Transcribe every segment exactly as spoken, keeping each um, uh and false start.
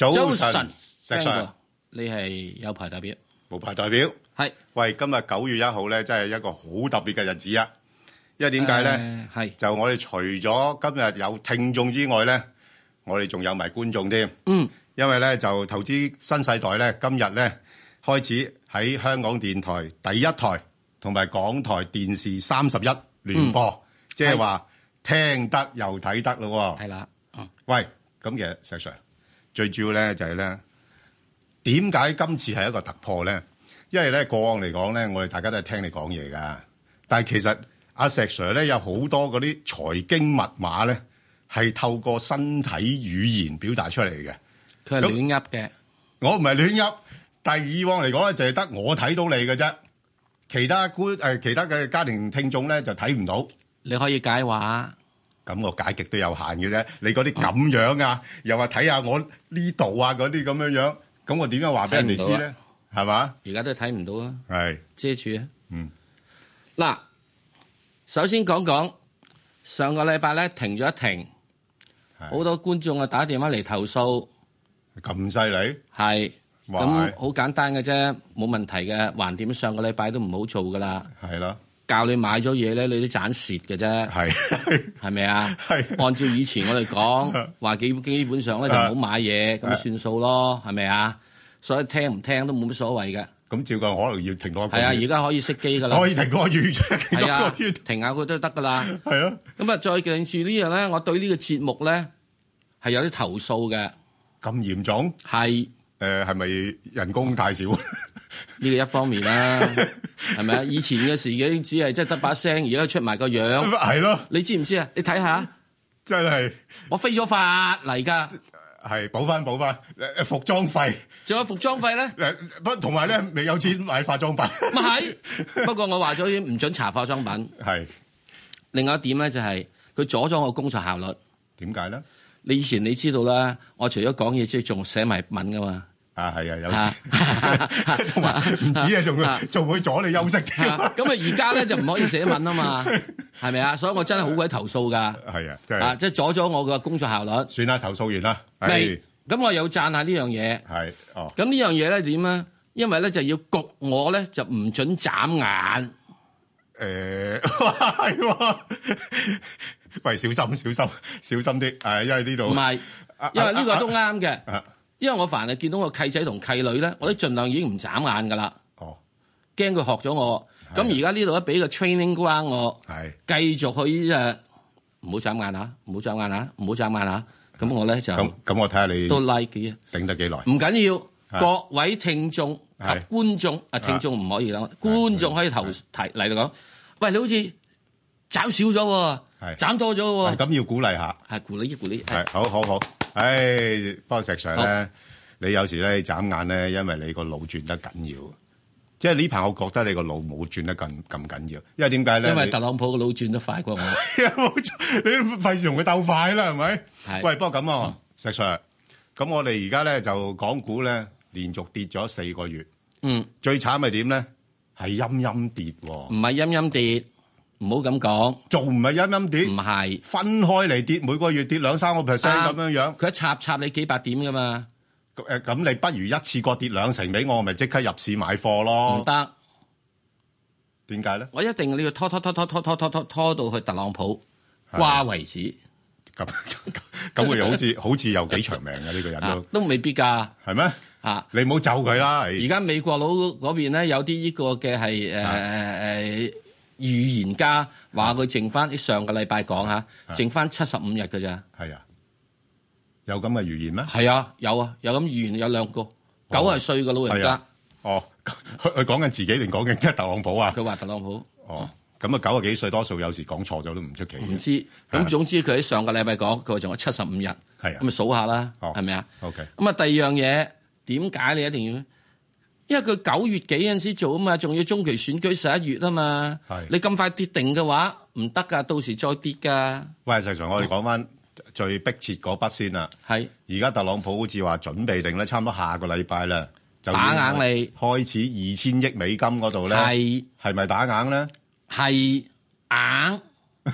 早晨， 石 Sir， 你係有牌代表， 無牌代表。 係喂，今日九月一號咧，真係一個好特別嘅日子啊！因為點解咧？ 係就我哋除咗今日有聽眾之外咧，我哋仲有埋觀眾添。 嗯， 因為咧就投資新世代咧，今日咧開始喺香港電台第一台同埋港台電視三十一聯播，即係話聽得又睇得咯。 係啦，嗯， 喂，咁其實石 Sir 最主要咧就係咧，點解今次係一個突破咧？因為咧過往嚟講咧，我哋大家都係聽你講嘢噶，但係其實阿石 Sir 咧有好多嗰啲財經密碼咧，係透過身體語言表達出嚟嘅。 佢係亂噏嘅， 我唔係亂噏，但係以往嚟講咧，就係得我睇到你嘅啫，其他觀誒其他嘅家庭聽眾咧就睇唔到。 你可以解話， 咁我解極都有限嘅啫。你嗰啲咁樣啊，又話睇下我呢度啊嗰啲咁樣樣，咁我點樣話俾人哋知咧？係嘛？ 而家都睇唔到啊！ 係遮住啊！ 嗯， 嗱，首先講講上個禮拜咧停咗一停，好多觀眾啊打電話嚟投訴， 咁犀利？ 係咁好簡單嘅啫，冇問題嘅。橫掂上個禮拜都唔好做噶啦， 係啦， 教你買咗嘢咧，你都賺蝕嘅啫， 係係咪啊？ 係按照以前我哋講話，基基本上咧就唔好買嘢，咁算數咯，係咪啊？所以聽唔聽都冇乜所謂嘅。 咁照計可能要停多一個月。 係啊，而家可以熄機噶啦。 可以停多個月啫，停多個月。 停下佢都得噶啦。 係咯。 咁啊，再近住呢樣咧，我對呢個節目咧係有啲投訴嘅。 咁嚴重？ 係。 誒係咪人工太少？呢個一方面啦，係咪啊？以前嘅時已經只係即係得把聲，而家出埋個樣。 係咯。 你知唔知啊？你睇下。 真係。我飛咗法嚟㗎。 係補翻補翻，誒服裝費， 仲有服裝費咧？ 誒不同埋咧，未有錢買化妝品。 咪係，不過我話咗已經唔准搽化妝品。 係。另外一點咧就係佢阻咗我工作效率。 點解咧？ 你以前你知道啦，我除咗講嘢之外，仲寫埋文噶嘛。 啊係啊，有時同埋唔止啊，仲會仲會阻你休息添。 咁啊，而家咧就唔可以寫文啊嘛，係咪啊？所以我真係好鬼投訴噶。 係啊，即係啊，即係阻咗我嘅工作效率。 算啦，投訴完啦。 係，咁我又讚下呢樣嘢。 係，哦。 咁呢樣嘢咧點啊？因為咧就要焗我咧，就唔准眨眼。 誒，係喎。喂，小心小心小心啲，誒，因為呢度唔係，因為呢個都啱嘅。因為我凡係見到個契仔同契女咧，我都盡量已經唔眨眼噶啦。 哦， 驚佢學咗我。咁而家呢度咧俾個 training ground我， 係繼續去誒，唔好眨眼嚇，唔好眨眼嚇，唔好眨眼嚇。咁我咧就咁咁，我睇下你都 like 嘅， 頂得幾耐？ 唔緊要，各位聽眾及觀眾啊，聽眾唔可以講，觀眾可以投提嚟到講，喂，你好似斬少咗喎，斬多咗喎。 咁要鼓勵下， 係鼓勵，鼓勵。 係好好好。唉，不過石 Sir 咧，你有時咧眨眼咧，因為你個腦轉得緊要。即係呢排，我覺得你個腦冇轉得咁咁緊要。因為點解咧？ 因為特朗普個腦轉得快過我。 冇錯，你費事同佢鬥快啦，係咪？係。喂，不過咁啊，石 Sir，咁我哋而家咧就港股咧連續跌咗四個月。 嗯。最慘係點咧？係陰陰跌喎。 唔係陰陰跌。唔好咁講， 仲唔係陰陰跌？唔係分開嚟跌，每個月跌兩三個 percent 咁樣樣。 佢一插插你幾百點噶嘛？ 誒，咁你不如一次過跌兩成俾我，咪即刻入市買貨咯？ 唔得， 點解咧？ 我一定你要拖拖拖拖拖拖拖拖拖到去特朗普瓜為止。 咁咁佢又好似好似有幾長命嘅呢個人都都未必㗎， 係咩？啊，你唔好咒佢啦！ 而家美國佬嗰邊咧有啲呢個嘅係誒誒。預言家話佢剩翻，啲上個禮拜講嚇，剩翻七十五日㗎咋？ 係啊，有咁嘅預言咩？ 係啊，有啊，有咁預言有兩個，九十歲嘅老人家。 哦，佢佢講緊自己定講緊即係特朗普啊？ 佢話特朗普。 哦，咁啊九十幾歲，多數有時講錯咗都唔出奇。 唔知，咁總之佢喺上個禮拜講，佢話仲有七十五日。係啊，咁咪數下啦，係咪啊？OK。咁啊，第二樣嘢點解你一定要？因為佢九月幾嗰陣時做啊嘛，仲要中期選舉十一月啊嘛，你咁快跌定嘅話唔得噶，到時再跌噶。 喂，實際上我哋講翻最迫切嗰筆先啦。係，而家特朗普好似話準備定咧，差唔多下個禮拜啦，就打硬你開始二千億美金嗰度咧，係係咪打硬咧？ 係硬。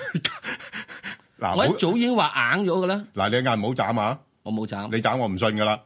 嗱，我一早已經話硬咗噶啦。 嗱，你眼唔好眨啊！ 我冇眨， 你眨我唔信噶啦。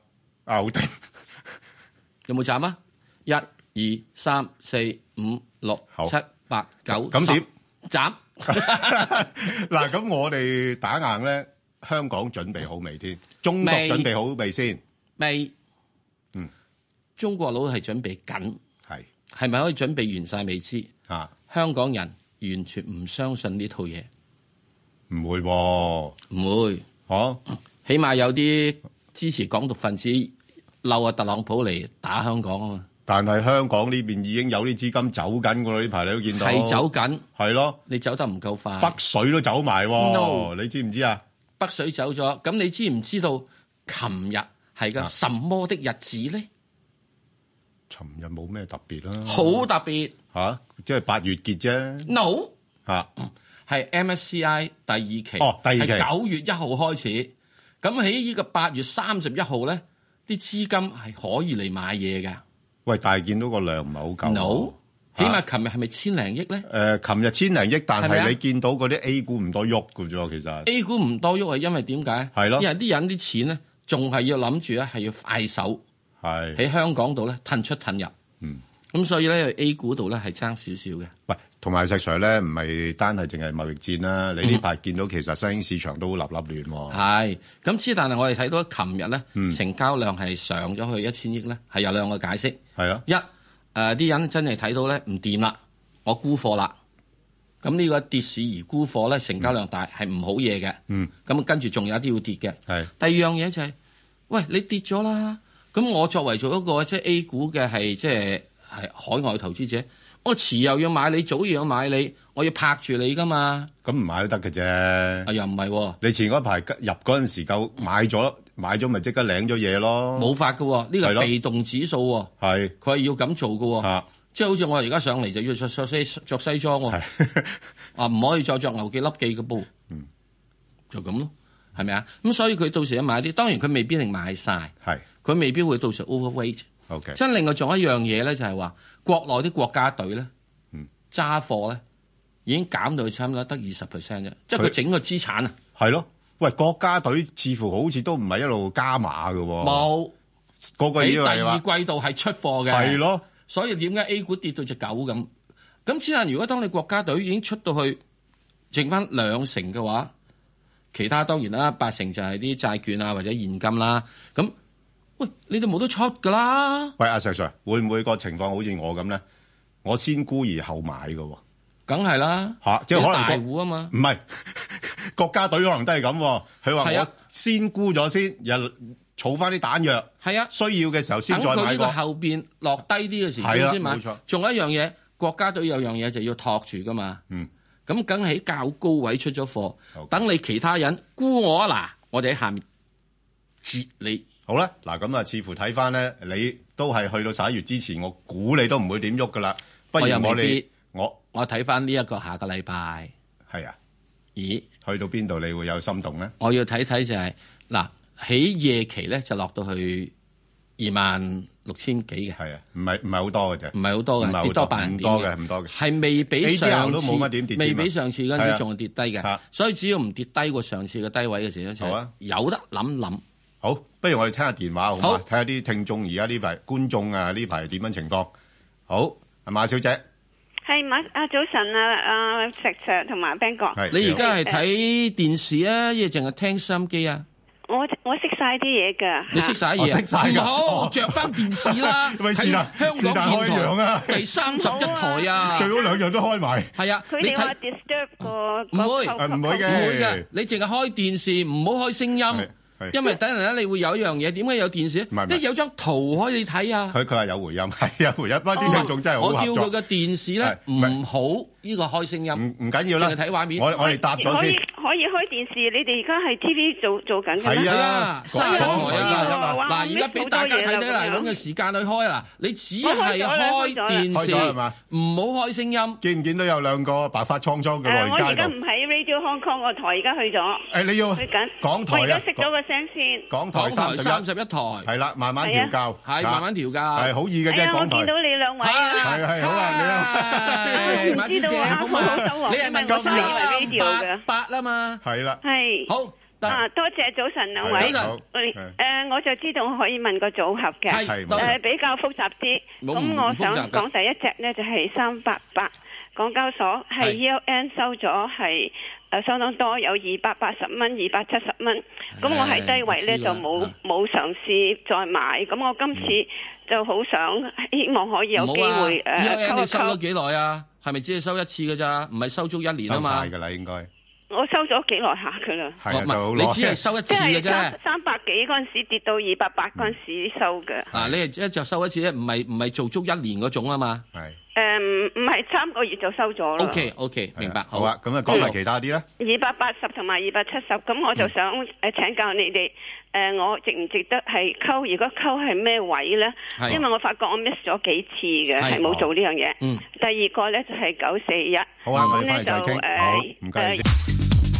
牛丁有冇斬啊？一、二、三、四、五、六、七、八、九， 咁點斬？ 嗱，咁我哋打硬咧，香港準備好未先？中國準備好未先？ 未。 嗯， 中國佬係準備緊， 係係咪可以準備完晒未知？ 啊， 香港人完全唔相信呢套嘢， 唔會喎， 唔會。 哦， 起碼有啲支持港獨分子嬲啊特朗普嚟打香港啊嘛。 但係香港呢邊已經有啲資金走緊㗎啦，呢排你都見到係走緊， 係咯， 你走得唔夠快。 北水都走埋喎 No 你知唔知啊？ 北水走咗，咁你知唔知道？琴日係個什麼的日子咧？ 尋日冇咩特別啦， 好特別嚇，即係八月結啫。 No 嚇， 係 M S C I 第二期， 哦，第二期係九月一號開始。咁喺呢個八月三十一號咧，啲資金係可以嚟買嘢㗎。 喂，但係見到個量唔係好夠。 No，起碼琴日係咪千零億咧？ 誒，琴日千零億，但係咪啊係你見到嗰啲 A 股唔多喐㗎啫，其實 A 股唔多喐係因為點解？ 係咯， 因為啲人啲錢咧，仲係要諗住咧係要快手， 係喺香港度咧褪出褪入。 嗯， 咁所以咧 A 股度咧係爭少少嘅。 喂，同埋石 Sir 咧，唔係單係淨係貿易戰啦。你呢排見到其實新興市場都立立亂喎。 係，咁之但係我哋睇到琴日咧， 嗯成交量係上咗去一千億咧，係有兩個解釋。 係啊， 一誒啲人真係睇到咧唔掂啦，我沽貨啦。咁呢個跌市而沽貨咧，成交量大係唔好嘢嘅。 嗯， 咁跟住仲有啲要跌嘅。 係。 第二樣嘢就係、是，喂，你跌咗啦，咁我作為做一個即係 A 股嘅係即係係海外投資者，我遲又要買你，早又要買你，我要拍住你噶嘛。 咁唔買都得嘅啫。 啊，又唔係喎。 你前嗰排入嗰陣時夠買咗，買咗咪即刻領咗嘢咯。 冇法㗎喎，呢個係被動指數喎。 係。 佢係要咁做㗎喎。 啊。即係好似我而家上嚟就要着着西着西裝喎。啊，唔可以再着牛記粒記嘅噃。 嗯。 就咁咯，係咪啊？咁所以佢到時一買啲，當然佢未必係買晒。 係。佢未必會到時 overweight。 OK。 即係另外仲有一樣嘢咧，就係話國內啲國家隊咧， 嗯，揸貨咧已經減到去差唔多得二十 percent 啫，即係佢整個資產啊。 係咯，喂，國家隊似乎好似都唔係一路加碼嘅喎。冇，個個以為話第二季度係出貨嘅。係咯，所以點解 A 股跌到隻狗咁？咁之但如果當你國家隊已經出到去剩翻兩成嘅話，其他當然啦，八成就係啲債券啊或者現金啦，咁。喂，你哋冇得出噶啦！ 喂，阿 Sir Sir，會唔會個情況好似我咁咧？我先沽而後買嘅喎， 梗係啦嚇，即係可能大戶啊嘛。 唔係國家隊可能都係咁。佢話我先沽咗先，又儲翻啲彈藥。係啊，需要嘅時候先再買過。等佢呢個後邊落低啲嘅時候先買。冇錯。仲有一樣嘢，國家隊有樣嘢就要托住噶嘛。嗯。咁梗係較高位出咗貨，等你其他人沽我啊嗱，我哋喺下面截你。 好啦，嗱咁啊，似乎睇翻咧，你都係去到十一月之前，我估你都唔會點喐噶啦。不如我哋我我睇翻呢一個下個禮拜係啊， 咦， 去到邊度你會有心動咧？ 我要睇睇就係、是、嗱，喺夜期咧就落到去二萬六千幾嘅， 係啊，唔係唔係好多嘅啫， 唔係好多嘅，跌多百零點嘅， 唔多嘅，唔多嘅， 係未比上次都冇乜點跌， 未比上次嗰陣時仲係跌低嘅、啊，所以只要唔跌低過上次嘅低位嘅時候，好啊，有得諗諗。 好，不如我哋聽下電話好嘛？睇下啲聽眾而家呢排觀眾啊呢排點樣情況？好，阿馬小姐， 係馬啊早晨啊啊石 Sir 同埋 Ben 哥， 你而家係睇電視啊，亦淨係聽收音機啊？ 我我識晒啲嘢㗎， 你識晒嘢，識晒㗎，好着翻電視啦，睇香港電台第三十一台啊， 最好兩樣都開埋。係啊， 佢哋話 disturb 個唔會唔會嘅， 唔會嘅，你淨係開電視，唔好開聲音。因為等陣咧，你會有一樣嘢，點解有電視咧？因為有張圖可以睇啊。佢佢話有回音，係有回音。不過啲聽眾真係好合作。 我叫佢個電視咧唔好呢個開聲音，唔唔緊要啦。 淨係睇畫面。 我我哋答咗先。 可以開電視，你哋而家係 T V 做做緊嘅咩？ 係啊，新台啊！嗱，而家俾大家睇睇嚟，揾個時間去開啦。你只係開電視，唔好開聲音。 見唔見到有兩個白髮蒼蒼嘅老人家？ 我而家唔喺 Radio Hong Kong 個台，而家去咗。 誒，你要去緊港台啊？ 我而家熄咗個聲先。 港台三十一台係啦，慢慢調教， 係慢慢調教， 係好易嘅啫。港台。 我見到你兩位啊， 係係好啊， 你好。唔知道啊，好好收穫。 你係問我三八八啦嘛？ 係啦。 係。 好， 啊，多謝早晨兩位。 早晨。 誒，我就知道我可以問個組合嘅。 係。 誒，比較複雜啲。咁我想講第一隻咧就係三八八港交所，係 E L N 收咗係誒相當多，有二百八十蚊、二百七十蚊。咁我喺低位咧就冇冇嘗試再買。咁我今次就好想希望可以有機會誒溝一溝。E L N 你收咗幾耐啊？係咪只係收一次㗎咋？唔係收足一年啊嘛？ 收曬㗎啦，應該。 我收咗幾耐下㗎啦。 係啊，就你只係收一次嘅啫。 即係三百幾嗰陣時跌到二百八嗰陣時收嘅。 啊，你係一就收一次啫，唔係唔係做足一年嗰種啊嘛。 係。 誒唔唔係三個月就收咗啦。 O K O K，明白。 好啊，咁啊講埋其他啲咧。 二百八十同埋二百七十，咁我就想誒請教你哋誒，我值唔值得係溝？如果溝係咩位咧？因為我發覺我 miss 咗幾次嘅，係冇做呢樣嘢。嗯。第二個咧就係九四一。 好啊，我哋翻嚟再傾。好，唔該你先。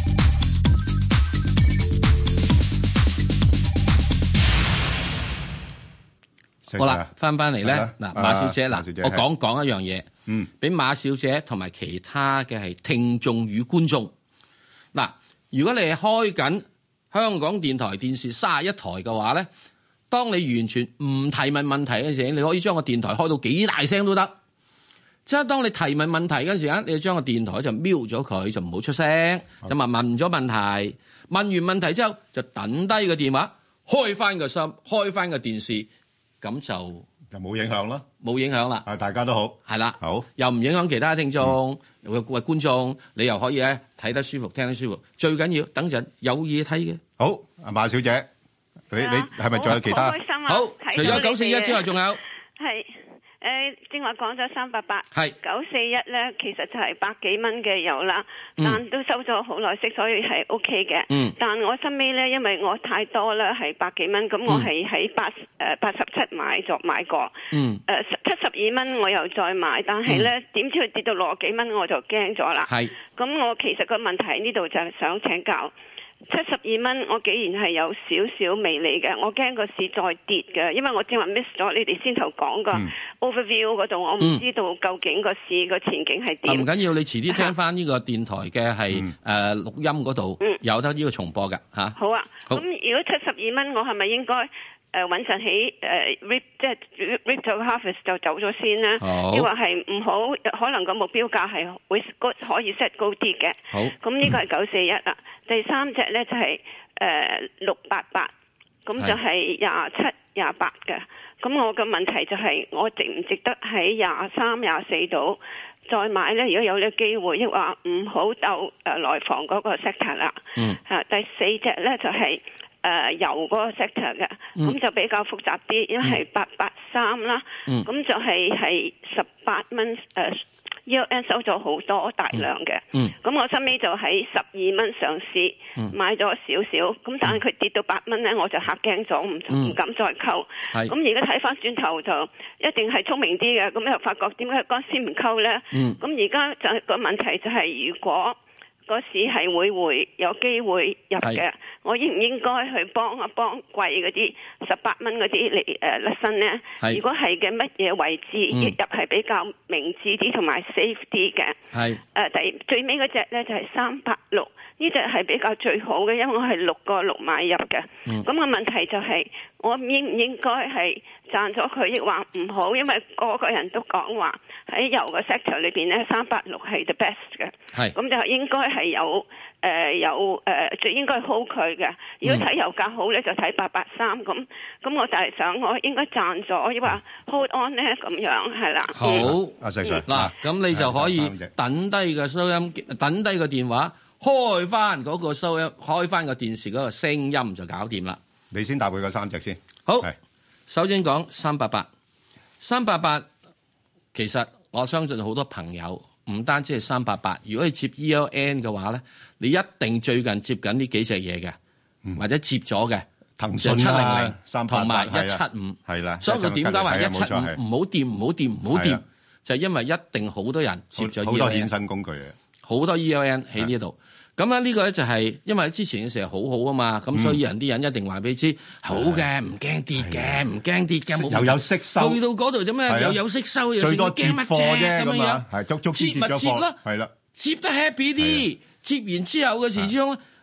好啦，翻翻嚟咧，嗱，馬小姐，嗱，我講講一樣嘢，嗯，俾馬小姐同埋其他嘅係聽眾與觀眾，嗱，如果你係開緊香港電台電視三十一台嘅話咧，當你完全唔提問問題嘅時候，你可以將個電台開到幾大聲都得，即係當你提問問題嗰時間，你就將個電台就瞄咗佢，就唔好出聲，就問問咗問題，問完問題之後就等低個電話，開翻個心，開翻個電視。咁就就冇影響咯， 冇影響啦。 啊，大家都好， 係啦， 好，又唔影響其他聽眾，喂、嗯、觀眾，你又可以咧睇得舒服，聽得舒服。最緊要等陣有嘢睇嘅。 好，阿馬小姐，你你係咪仲有其他？ 好開心啊！ 好，除咗九四一之外，仲有係。誒，正話講咗三百八， 係九四一咧，其實就係百幾蚊嘅油啦，嗯、但都收咗好耐息，所以係 O K 嘅。嗯，但我身尾咧，因為我太多啦，係百幾蚊，咁我係喺八誒八十七買咗買過。嗯。誒七十二蚊我又再買，但係咧點知佢跌到六十幾蚊，我就驚咗啦。係。咁我其實個問題喺呢度就係想請教。七十二蚊，我既然係有少少微利嘅，我驚個市再跌嘅，因為我正話 miss 咗你哋先頭講個 overview 嗰度，我唔知道究竟個市個前景係點。唔緊要，你遲啲聽翻呢個電台嘅係誒錄音嗰度，有得呢個重播㗎嚇。好啊，咁如果七十二蚊，我係咪應該誒穩陣起誒 rip 即係 rip 咗 harvest 就走咗先咧？抑或係唔好？可能個目標價係會可以 set 高啲嘅。好，咁呢個係九四一啦。第三隻咧就係誒六八八，咁就係廿七廿八嘅。咁我嘅問題就係我值唔值得喺廿三廿四度再買咧？如果有呢個機會，抑或唔好鬥誒內房嗰個 sector 啦。嗯。嚇，第四隻咧就係誒油嗰個 sector 嘅，咁、嗯、就比較複雜啲，因為係八八三啦。嗯。咁就係係十八蚊誒。E L N 收咗好多大量嘅，咁、嗯嗯、我收尾就喺十二蚊上市、嗯、買咗少少，咁但係佢跌到八蚊咧，我就嚇驚咗，唔唔、嗯、敢再溝。咁而家睇翻轉頭就一定係聰明啲嘅，咁又發覺點解嗰時唔溝咧？咁而家就係個問題就係、是、如果嗰市係會會有機會入嘅，我應唔應該去幫一幫貴嗰啲十八蚊嗰啲嚟誒甩身咧？如果係嘅乜嘢位置入係比較明智啲同埋 safe 啲嘅？係誒、呃、第最尾嗰隻咧就係三百六，呢隻係比較最好嘅，因為我係六個六買入嘅。咁、嗯、個問題就係、是、我應唔應該係賺咗佢，亦話唔好？因為個個人都講話喺油個 sector 裏邊咧，三百六係 the best 嘅。係咁就應該係有誒、呃、有誒、呃、最應該 hold 佢嘅。如果睇油價好咧，就睇八八三咁。咁我就係想我應該賺咗，亦話 hold on 咧咁樣係啦。好， 阿石 Sir 嗱，咁你就可以等低個收音，等低個電話，開翻嗰個收音，開翻個電視嗰個聲音就搞掂啦。 你先答佢個三隻先。 好，首先講三八八，三八八其實我相信好多朋友唔單止係三八八，如果係接 E L N 嘅話咧，你一定最近接緊呢幾隻嘢嘅，嗯、或者接咗嘅騰訊七零零同埋一七五，係啦。所以佢點解話一七五唔好掂，唔好掂，唔好掂，就係因為一定好多人接咗 E L N，好多衍生工具嘅，好多 E L N 喺呢度。咁咧呢個咧就係因為之前嘅時候好好啊嘛，咁、嗯、所以人啲人一定話俾你知好嘅，唔驚跌嘅，唔驚跌嘅， 又有息收， 去到嗰度做咩？又有息收，又最多接貨啫咁樣， 係足足接咪接啦， 係啦， 接得 happy 啲，接完之後嘅時鐘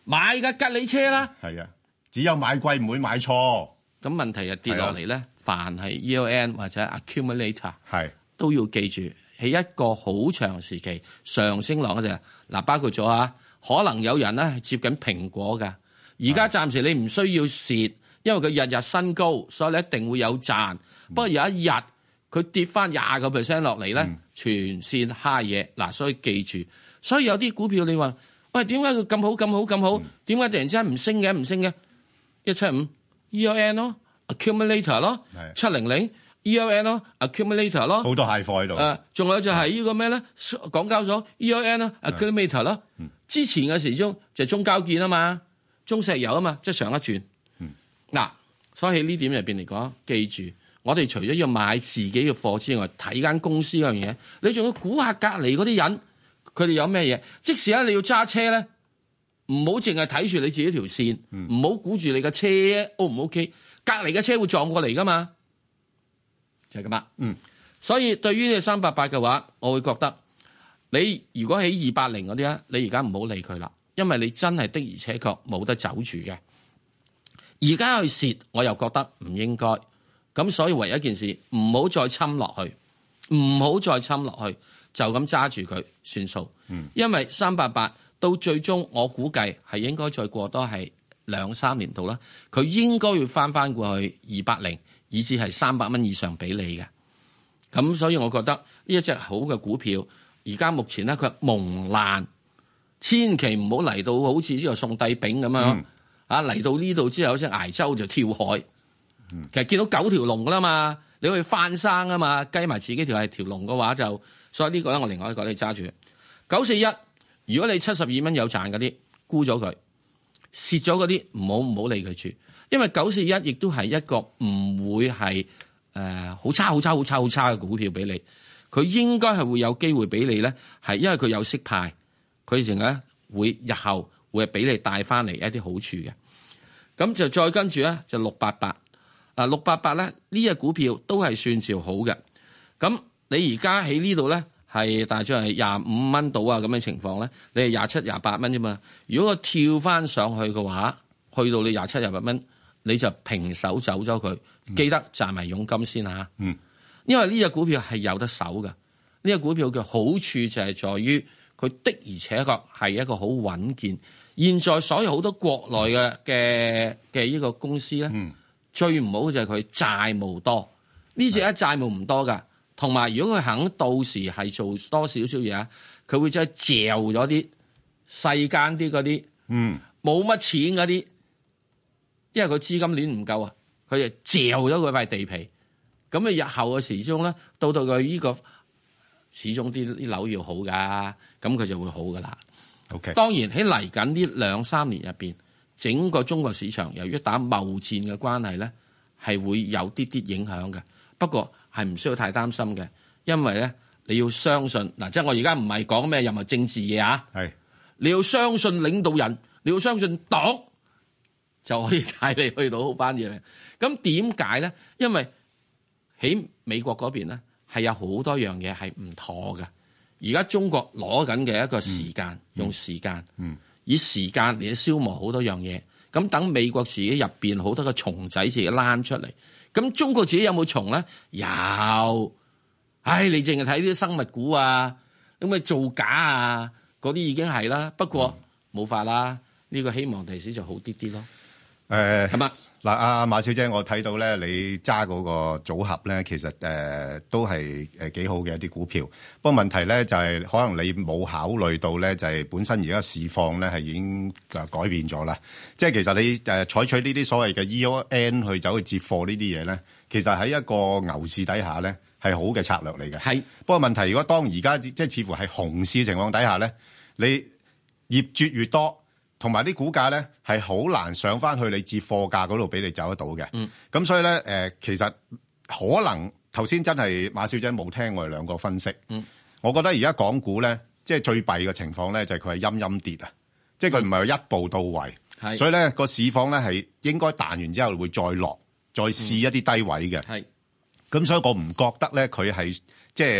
買架吉利車啦。 係啊，只有買貴唔會買錯。 咁問題就跌落嚟咧，凡係 E O N 或者 accumulator 係都要記住，喺一個好長時期上升浪嗰陣，嗱包括咗啊，可能有人咧係接緊蘋果㗎。而家暫時你唔需要蝕，因為佢日日新高，所以你一定會有賺。不過有一日佢跌翻廿個 percent 落嚟咧，嗯、全線蝦嘢嗱，所以記住。所以有啲股票你話，喂，點解佢咁好咁好咁好？點解、嗯、突然之間唔升嘅唔升嘅？一七五 E O N 咯 ，accumulator 咯，七零零 E O N 咯 ，accumulator 咯， 好多蟹貨喺度。誒， 仲有就係呢個咩咧？港交所 E O N 咯 ，accumulator 咯。嗯、之前嘅時鐘就係中交建啊嘛，中石油啊嘛，即係上一轉。嗱、嗯，所以喺呢點入邊嚟講，記住，我哋除咗要買自己嘅貨之外，睇間公司嗰樣嘢，你仲要估下隔離嗰啲人，佢哋有咩嘢？即使咧你要揸車咧。唔好淨係睇住你自己條線，唔好估住你嘅車 O 唔 OK， 隔離嘅車會撞過嚟噶嘛，就係咁啦。嗯，所以對於呢三八八嘅話，我會覺得你如果喺二八零嗰啲咧，你而家唔好理佢啦，因為你真係的而且確冇得走住嘅。而家去蝕，我又覺得唔應該。咁所以唯一一件事，唔好再侵落去，唔好再侵落去，就咁揸住佢算數。嗯，因為三八八。到最終，我估計係應該再過多係兩三年度啦。佢應該要翻翻過去二百零，以至係三百蚊以上俾你嘅。咁所以我覺得呢一隻好嘅股票，而家目前咧佢蒙難，千祈唔好嚟到好似之後送帝餅咁樣啊！嚟、嗯、到呢度之後，好似崖州就跳海。嗯、其實見到九條龍噶啦嘛，你可以翻生啊嘛，計埋自己條係條龍嘅話就，所以呢個咧我另外一個你揸住九四一。如果你七十二蚊有賺嗰啲，沽咗佢，蝕咗嗰啲唔好唔好理佢住，因為九四一亦都係一個唔會係誒好差好差好差好差嘅股票俾你，佢應該係會有機會俾你咧，係因為佢有息派，佢成日會日後會係俾你帶翻嚟一啲好處嘅。咁就再跟住咧就六八八，啊六八八咧呢隻股票都係算兆好嘅。咁你而家喺呢度咧？係大約係廿五蚊到啊咁嘅情況咧，你係廿七、廿八蚊啫嘛。如果我跳翻上去嘅話，去到你廿七、廿八蚊，你就平手走咗佢。嗯、記得賺埋佣金先嚇。嗯，因為呢隻股票係有得守嘅。呢隻股票嘅好處就係在於佢的而且確係一個好穩健。現在所有好多國內嘅嘅嘅呢個公司咧，嗯、最唔好就係佢債務多。呢隻一債務唔多㗎。同埋，如果佢肯到時係做多少少嘢啊，佢會真係嚼咗啲細間啲嗰啲，嗯，冇乜錢嗰啲，因為佢資金鏈唔夠啊，佢就嚼咗佢塊地皮。咁啊，日後嘅時鐘咧，到到佢呢個始終啲啲樓要好噶，咁佢就會好噶啦。OK，當然喺嚟緊呢兩三年入邊，整個中國市場由於打貿戰嘅關係咧，係會有啲啲影響嘅。不過，係唔需要太擔心嘅，因為咧你要相信嗱，即係我而家唔係講咩任何政治嘢啊，係你要相信領導人，你要相信黨，就可以帶你去到好班嘢。咁點解咧？因為喺美國嗰邊咧係有好多樣嘢係唔妥嘅。而家中國攞緊嘅一個時間，嗯、用時間，嗯、以時間嚟消磨好多樣嘢。咁等美國自己入邊好多個蟲仔自己躝出嚟。咁中國自己有冇蟲咧？有，唉，你淨係睇啲生物股啊，咁咪造假啊，嗰啲已經係啦。不過冇、嗯、法啦，呢、這個希望第時就好啲啲咯。誒、呃，係嘛？嗱，阿馬小姐，我睇到咧，你揸嗰個組合咧，其實誒、呃、都係誒幾好嘅一啲股票。不過問題咧就係、是，可能你冇考慮到咧，就係、是、本身而家市況咧係已經誒改變咗啦。即係其實你誒採取呢啲所謂嘅 E O N 去走去接貨呢啲嘢咧，其實喺一個牛市底下咧係好嘅策略嚟嘅。係。不過問題，如果當而家即係似乎係熊市情況底下咧，你業絕越多。同埋啲股價咧係好難上翻去你接貨價嗰度俾你走得到嘅。嗯。咁所以咧誒、呃，其實可能頭先真係馬小姐冇聽我哋兩個分析。嗯。我覺得而家港股咧，即係最弊嘅情況咧，就係佢係陰陰跌啊！即係佢唔係一步到位。係。所以咧個市況咧係應該彈完之後會再落，再試一啲低位嘅。係、嗯。咁所以我唔覺得咧佢係即係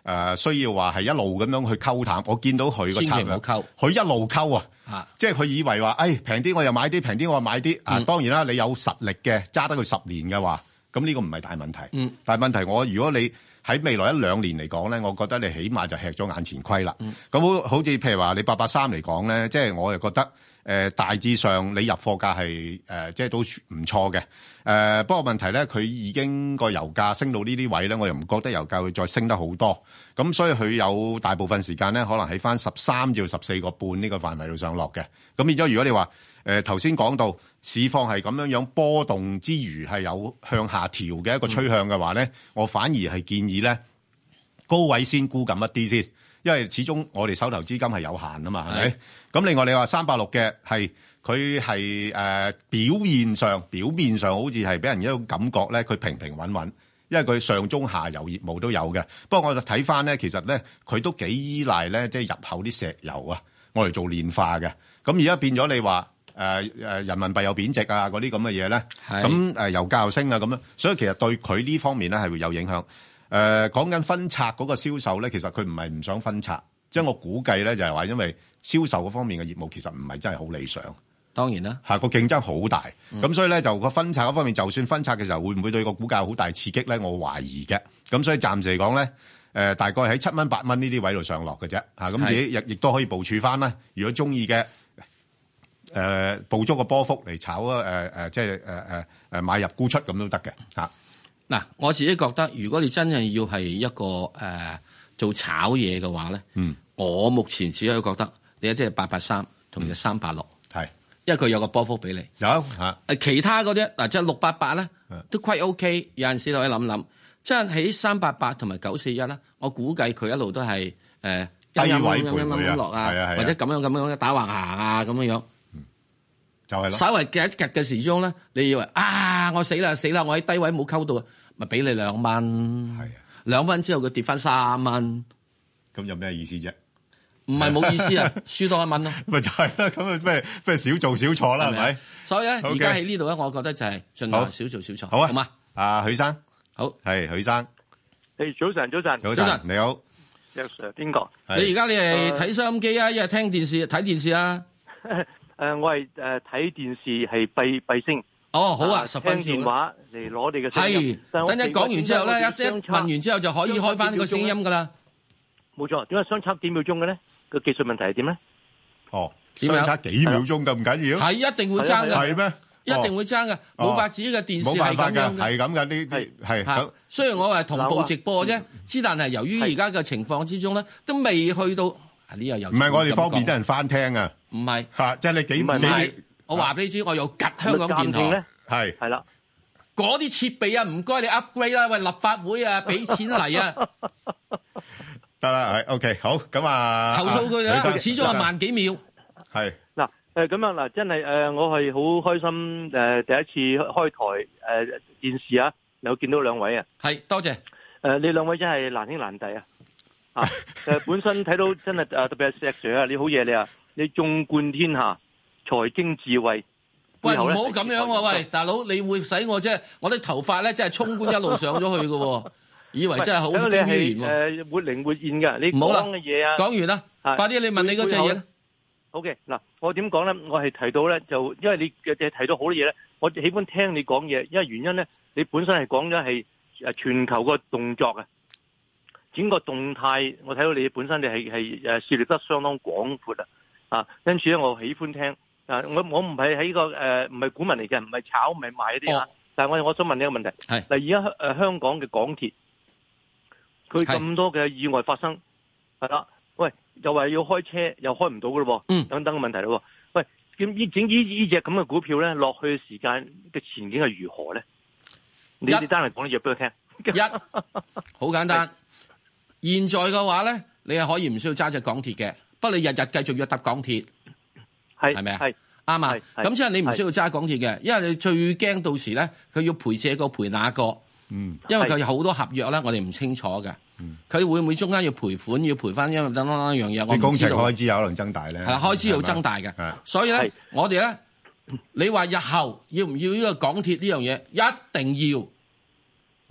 呃、需要話係一路咁樣去溝淡。我見到佢個策略，佢一路溝啊，啊即係佢以為話，誒平啲我又買啲，平啲我又買啲。啊，當然啦，你有實力嘅揸得佢十年嘅話，咁呢個唔係大問題。嗯，但係問題我如果你喺未來一兩年嚟講咧，我覺得你起碼就吃咗眼前虧啦。咁、嗯、好好似譬如話你八八三嚟講咧，即係我又覺得誒、呃、大致上你入貨價係誒、呃、即係都唔錯嘅。誒、呃、不過問題咧，佢已經個油價升到呢啲位咧，我又唔覺得油價會再升得好多。咁所以佢有大部分時間咧，可能喺翻十三至十四個半呢個範圍度上落嘅。咁變咗，如果你話誒頭先講到市況係咁樣樣波動之餘係有向下調嘅一個趨向嘅話咧、嗯，我反而係建議咧高位先沽緊一啲先，因為始終我哋手頭資金係有限啊嘛，係咪？咁另外你話三百六嘅係佢係誒表現上表面上好似係俾人一種感覺咧，佢平平穩穩，因為佢上中下游業務都有嘅。不過我就睇翻咧，其實咧佢都幾依賴咧，即係入口啲石油啊，我嚟做煉化嘅。咁而家變咗你話。誒、呃、誒，人民幣有貶值啊，嗰啲咁嘅嘢咧，咁誒油價又升啊，咁樣，所以其實對佢呢方面咧係會有影響。誒、呃，講緊分拆嗰個銷售咧，其實佢唔係唔想分拆，即係我估計咧就係話，因為銷售嗰方面嘅業務其實唔係真係好理想。 當然啦， 嚇個競爭好大，咁、嗯、所以咧就個分拆嗰方面，就算分拆嘅時候，會唔會對個股價有好大刺激咧？我懷疑嘅。咁所以暫時嚟講咧，誒、呃、大概喺七蚊八蚊呢啲位度上落嘅啫。嚇咁自己亦亦都可以部署翻啦。如果中意嘅。誒、呃、捕捉個波幅嚟炒啊！誒、呃、誒，即係誒誒誒買入沽出咁都得嘅嚇。 嗱、啊，我自己覺得，如果你真係要係一個誒、呃、做炒嘢嘅話咧，嗯，我目前只可以覺得你一即係八八三同埋三八六，係，因為佢有個波幅俾你有嚇。誒其他嗰啲嗱，即係六八八咧，都 quite OK。有陣時可以諗諗，即係喺三八八同埋九四一咧，我估計佢一路都係誒、呃、低位徘徊落啊，或者咁樣咁樣打橫行啊咁樣樣。就係咯，稍微夾一夾嘅時鐘咧，你以為啊，我死啦死啦，我喺低位冇溝到啊，咪俾你兩蚊，係啊，兩蚊之後佢跌翻三蚊，咁有咩意思啫？唔係冇意思啊，輸多一蚊咯，咪就係啦，咁啊咩咩少做少錯啦，係咪？所以咧，而家喺呢度咧，我覺得就係盡量少做少錯，好啊，好嘛？啊，許生，好，係許生，誒，早晨，早晨，早晨，你好 ，Yes Sir，邊個？你而家你係睇收音機啊，一係聽電視睇電視啊？誒、呃，我係誒睇電視係閉閉聲。哦，好啊，十分鐘。聽電話嚟攞你嘅聲音。係，等一講完之後咧，一即問完之後就可以開翻呢個聲音噶啦。冇錯，點解相差幾秒鐘嘅咧？個技術問題係點咧？哦，相差幾秒鐘咁唔緊要？係一定會爭噶。係咩？一定會爭噶，冇法子嘅電視係咁樣嘅。係咁噶，呢啲係係。雖然我係同步直播啫，之但係由於而家嘅情況之中咧，都未去到。呢又唔係我哋方便得人翻聽啊！唔係嚇，即係你幾幾？我話俾你知，我有吉香港電台係係啦，嗰啲設備啊，唔該你 upgrade 啦，喂，立法會啊，俾錢嚟啊！得啦，係 OK，好咁啊，投訴佢啦，始終係萬幾秒。係嗱誒咁啊嗱，真係誒，我係好開心誒，第一次開台誒電視啊，有見到兩位啊，係多謝誒，你兩位真係難兄難弟啊！啊！誒，本身睇到真係誒，特別係石 Sir 啊，你好嘢你啊，你縱觀天下，財經智慧。喂，唔好咁樣喎、啊，喂，大佬，你會使我啫？我啲頭髮咧真係衝冠一路上咗去嘅，以為真係好經典喎。誒，活靈活現嘅，你講嘅嘢啊，講完啦，快啲你問你嗰隻嘢啦。好嘅，嗱，我點講咧？我係提到咧，就因為你嘅提到好多嘢咧，我喜歡聽你講嘢，因為原因咧，你本身係講咗係誒全球個動作啊。整個動態，我睇到你本身你係係誒涉獵得相當廣闊啊！啊，因此咧，我喜歡聽啊！我我唔係喺個誒唔係股民嚟嘅，唔係炒唔係賣嗰啲啊！但係我我想問你一個問題，係嗱，而家誒香港嘅港鐵，佢咁多嘅意外發生，係啦，喂，又話要開車又開唔到嘅咯，嗯，等等嘅問題咯，喂，咁呢整呢呢隻咁嘅股票咧，落去嘅時間嘅前景係如何咧？你哋單嚟講啲嘢俾我聽，一好簡單。現在嘅話咧，你係可以唔需要揸隻港鐵嘅，不過你日日繼續要搭港鐵，係係咪啊？係啱啊！咁即係你唔需要揸港鐵嘅，因為你最驚到時咧，佢要賠這個賠那個，嗯，因為佢有好多合約咧，我哋唔清楚嘅，佢會唔會中間要賠款，要賠翻因為等等一樣嘢，我唔知道。工程開支有可能增大咧，係開支要增大嘅，所以咧，我哋咧，你話日後要唔要呢個港鐵呢樣嘢，一定要。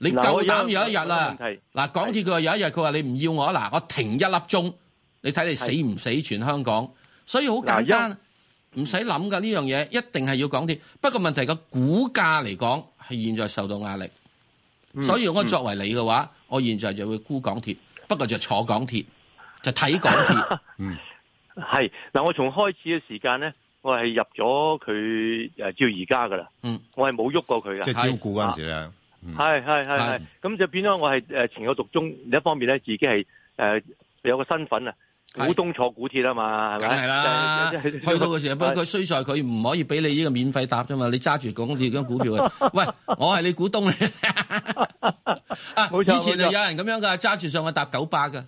你夠膽有一日啦，嗱港鐵佢話有一日佢話你唔要我，嗱我停一粒鐘，你睇你死唔死全香港，所以好簡單，唔使諗噶呢樣嘢，一定係要港鐵。不過問題個股價嚟講係現在受到壓力，嗯、所以我作為你嘅話、嗯，我現在就會沽港鐵，不過就坐港鐵，就睇港鐵。嗯， 係嗱，我從開始嘅時間咧。我係入咗佢誒，照而家噶啦。嗯，我係冇喐過佢噶。 即係招股嗰陣時咧。 係係係係。咁就變咗我係誒情有獨鍾。另一方面咧，自己係誒、呃、有個身份啊，股東坐股鐵啊嘛，係咪？梗係啦。去到嘅時候，不過佢衰在佢唔可以俾你呢個免費搭啫嘛。你揸住港鐵嗰股票啊，喂，我係你股東嚟。啊，冇錯。以前就有人咁樣噶，揸住上去搭九百噶。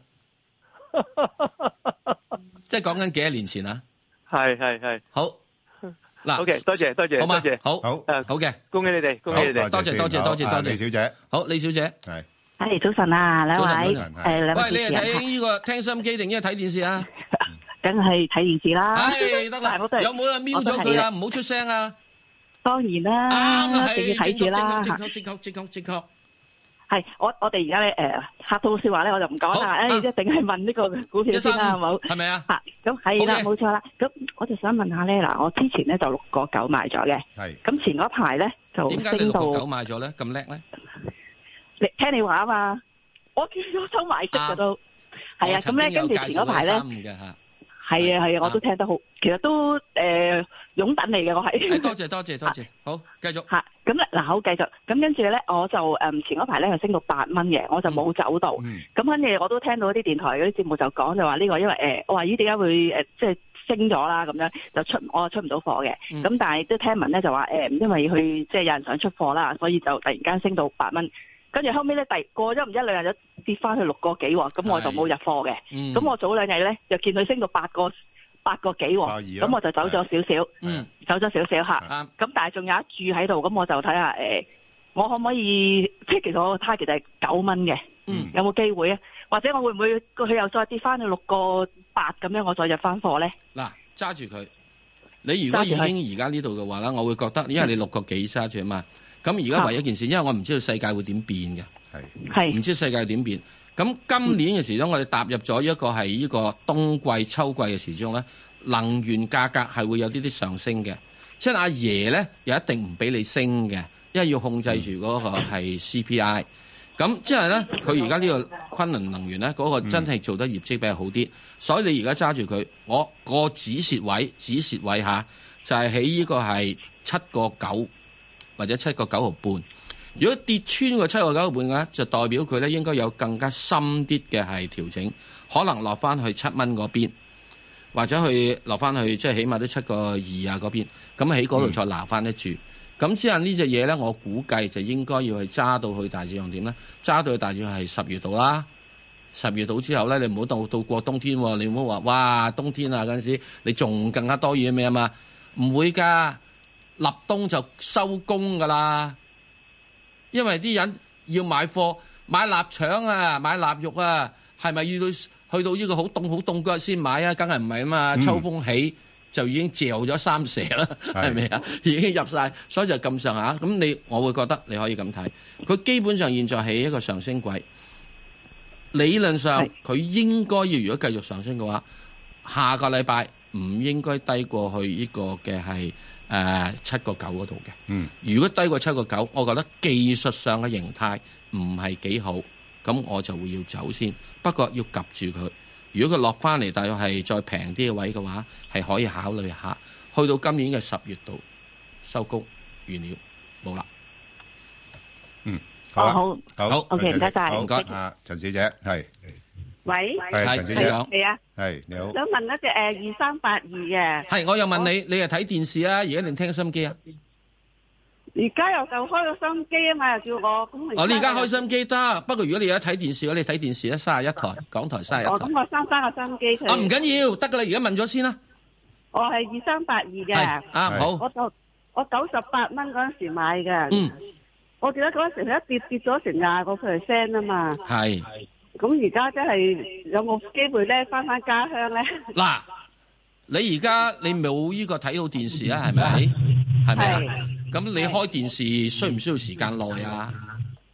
即係講緊幾多年前啊？ 係係係好嗱 ，OK， 多謝多謝， 好嘛， 多謝， 好好誒，好嘅， 恭喜你哋，恭喜你哋， 多謝多謝多謝多謝，李小姐， 好，李小姐， 係，係早晨啊，兩位，誒，兩位， 喂，你係睇呢個聽收音機定係睇電視啊？ 梗係睇電視啦， 係得啦，有冇人瞄咗佢啊？唔好出聲啊！ 當然啦， 啱係， 一定要睇住啦， 正確正確正確正確。 係我我哋而家咧誒客套說話咧，我就唔講啦。誒、欸，一定係問呢個股票先啦，係冇？ 係咪啊？ 吓，咁係啦，冇錯啦。咁我就想問下咧，嗱，我之前咧就六個九買咗嘅，係。咁前嗰排咧就升到，點解你六個九買咗咧？咁叻咧？你聽你話啊嘛，我見到收買息嘅都係啊。咁咧跟住前嗰排咧。係啊係啊，我都聽得好，其實都誒擁躉嚟嘅，我係。 多謝多謝多謝，好繼續。 吓，咁咧嗱，好繼續。咁跟住咧，我就誒前嗰排咧係升到八蚊嘅，我就冇走到。咁跟住我都聽到啲電台嗰啲節目就講就話呢個因為誒，我話咦點解會誒即係升咗啦咁樣，就出我出唔到貨嘅。咁、嗯、但係都聽聞咧就話誒，因為佢即係有人想出貨啦，所以就突然間升到八蚊。跟住後尾咧，第過咗唔一兩日就跌翻去六個幾喎，咁我就冇入貨嘅。咁、嗯、我早兩日咧就見佢升到八個八個幾喎，咁我就走咗少少，走咗少少嚇。咁但係仲有一注喺度，咁我就睇下誒，我可唔可以即係其實我個 target 係九蚊嘅，有冇機會啊？或者我會唔會佢又再跌翻去六個八咁樣，我再入翻貨咧？嗱，揸住佢。你如果已經而家呢度嘅話咧，我會覺得，因為你六個幾揸住啊嘛。咁而家唯一一件事，因為我唔知道世界會點變嘅，係唔知世界點變。咁今年嘅時鐘，我哋踏入咗一個係呢個冬季、秋季嘅時鐘咧，能源價格係會有啲啲上升嘅。即係阿爺咧，又一定唔俾你升嘅，因為要控制住嗰個係 C P I。咁即係咧，佢而家呢個昆侖能源咧，嗰、嗰個真係做得業績比較好啲、嗯，所以你而家揸住佢，我個止蝕位、止蝕位下就係喺呢個係七個九。或者七個九毫半，如果跌穿個七個九毫半嘅咧，就代表佢咧應該有更加深啲嘅係調整，可能落翻去七蚊嗰邊，或者去落翻去即係起碼都七個二啊嗰邊，咁喺嗰度再拿翻得住。咁、嗯、之後呢隻嘢咧，我估計就應該要去揸到去大致上點咧？揸到去大致係十月度啦。十月度之後咧，你唔好到到過冬天喎，你唔好話哇冬天啊嗰陣時，你仲更加多嘢咩啊嘛？唔會㗎。立冬就收工噶啦，因為啲人要買貨買臘腸啊，買臘肉啊，係咪要到去到呢個好凍好凍嗰日先買啊？梗係唔係啊嘛！秋風起就已經嚼咗三蛇啦，係咪啊？已經入晒，所以就咁上下。咁你我會覺得你可以咁睇，佢基本上現在係一個上升軌，理論上佢應該要如果繼續上升嘅話，下個禮拜唔應該低過去呢個嘅係。誒七個九嗰度嘅，嗯，如果低過七個九，我覺得技術上嘅形態唔係幾好，咁我就會要走先。不過要及住佢，如果佢落翻嚟，大約係再平啲嘅位嘅話，係可以考慮下。去到今年嘅十月度收工完了，冇啦。 嗯，好、啊哦、好，好 ，OK， 唔該晒， 唔該，啊，陳小姐係。 喂， 係陳小姐， 係啊， 係你好。 想問一隻誒二三八二嘅， 係我又問你，你係睇電視啊，而家定聽收音機啊？ 而家又就開個收音機啊嘛，又叫我咁。 哦，你而家開收音機得，不過如果你而家睇電視，你睇電視咧，三十一台，港台三十一台。 哦，咁我三三個收音機。 啊，唔緊要，得噶啦，而家問咗先啦。 我係二三八二嘅。 啊，好。 我就我九十八蚊嗰陣時買嘅。嗯。我記得嗰陣時佢一跌跌咗成廿個 percent 啊嘛。係。咁而家真係有冇機會咧翻翻家鄉咧？ 嗱，你而家你冇呢個睇到電視啊？係咪？係咪啊？咁你開電視需唔需要時間耐啊？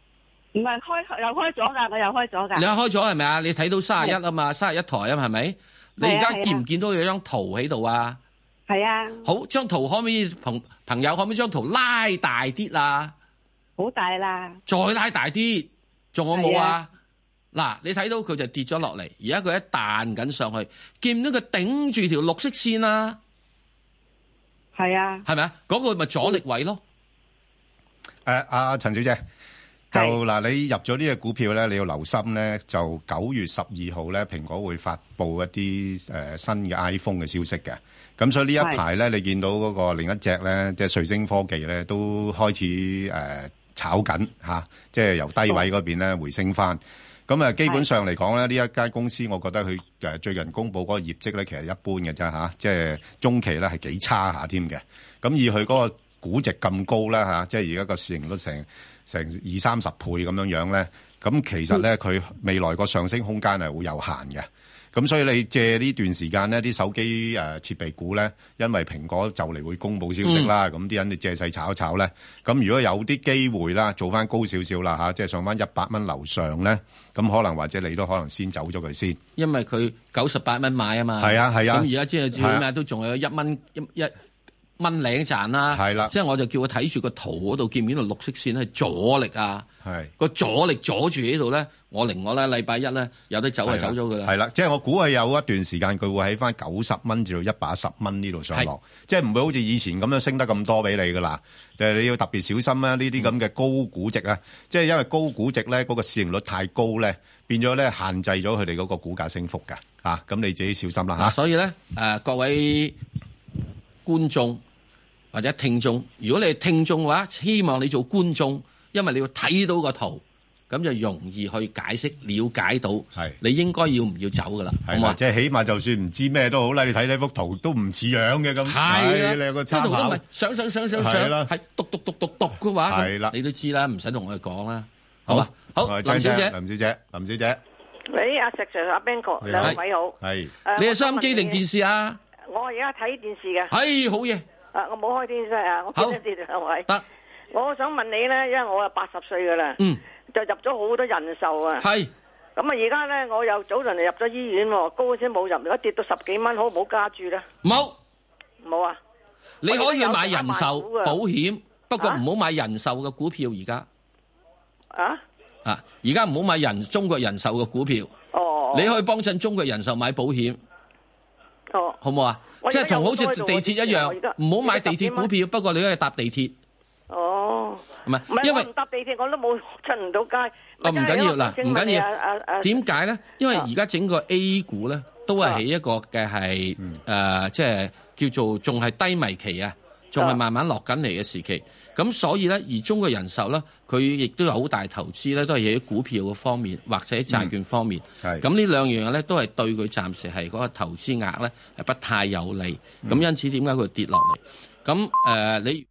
唔係開又開咗㗎，我又開咗㗎。 你又開咗係咪啊？你睇到三十一啊嘛，三十一台啊，係咪？你而家見唔見到有張圖喺度啊？ 係啊。好， 張圖可唔可以朋朋友可唔可以將圖拉大啲啊？ 好大啦。 再拉大啲，仲有冇啊？嗱，你睇到佢就跌咗落嚟，而家佢一彈緊上去，見唔到佢頂住條綠色線啊？ 係啊。係咪啊？ 嗰個咪阻力位咯。 誒，阿陳小姐，就嗱，你入咗呢隻股票咧，你要留心咧，就九月十二號咧，蘋果會發布一啲誒新嘅 iPhone 嘅消息嘅。咁所以呢一排咧，你見到嗰個另一隻咧，即係瑞聲科技咧，都開始誒炒緊嚇，即係由低位嗰邊咧回升翻。咁啊，基本上嚟講咧，呢一間公司，我覺得佢誒最近公佈嗰個業績咧，其實一般嘅啫嚇，即係中期咧係幾差下添嘅。咁以佢嗰個估值咁高啦嚇，即係而家個市盈率成成二三十倍咁樣樣咧，咁其實咧佢未來個上升空間係好有限嘅。咁所以你借呢段時間呢啲手機誒設備股咧，因為蘋果就嚟會公佈消息啦，咁啲、嗯、人你借勢炒一炒咧，咁如果有啲機會啦，做翻高少少啦嚇，即係上翻一百蚊樓上咧，咁可能或者你都可能先走咗佢先，因為佢九十八蚊買啊嘛，係啊係啊，咁而家即係最咩都仲有一蚊一一蚊零賺啦，係啦，即係我就叫佢睇住個圖嗰度，見唔見到綠色線係阻力啊？係個阻力阻住喺度咧，我另外咧禮拜一咧有得走就走咗佢啦。係啦，即係我估係有一段時間佢會喺翻九十蚊至到一百一十蚊呢度上落，即係唔會好似以前咁樣升得咁多俾你噶啦。誒，你要特別小心啦，呢啲咁嘅高估值啊，即係因為高估值咧嗰個市盈率太高咧，變咗咧限制咗佢哋嗰個股價升幅㗎。嚇，咁你自己小心啦嚇。所以咧誒，各位觀眾或者聽眾，如果你係聽眾嘅話，希望你做觀眾，因為你要睇到個圖，咁就容易去解釋、了解到，係你應該要唔要走噶啦，好嘛？即係起碼就算唔知咩都好啦，你睇呢幅圖都唔似樣嘅咁，係你有個參考。呢圖都唔係上上上上上，係讀讀讀讀讀嘅話，係啦，你都知啦，唔使同我哋講啦，好嘛？好，林小姐，林小姐，林小姐， 喂，阿石 Sir、阿 Ben 哥，兩位好， 係， 你係收音機定電視啊？ 我而家睇電視嘅， 係好嘢。 啊！我冇開電視啊，我見得住兩位。得，我想問你咧，因為我啊八十歲噶啦，嗯，就入咗好多人壽啊。係。咁啊，而家咧我又早輪嚟入咗醫院喎，高先冇入，而家跌到十幾蚊，好唔好加注咧？冇，冇啊！你可以買人壽保險，不過唔好買人壽嘅股票而家。啊？啊！而家唔好買人中國人壽嘅股票。哦。你可以幫襯中國人壽買保險。哦。好唔好啊？即係同好似地鐵一樣，唔好買地鐵股票。不過你可以搭地鐵。哦，唔係，因為唔搭地鐵我都冇出唔到街。哦，唔緊要嗱，唔緊要。點解咧？因為而家整個 A 股咧，都係喺一個嘅係誒，即係叫做仲係低迷期啊，仲係慢慢落緊嚟嘅時期。咁所以咧，而中國人壽咧，佢亦都有好大投資咧，都係喺股票嘅方面或者債券方面。係、嗯。咁呢兩樣嘢咧，都係對佢暫時係嗰個投資額咧係不太有利。咁、嗯、因此點解佢跌落嚟？咁誒、呃，你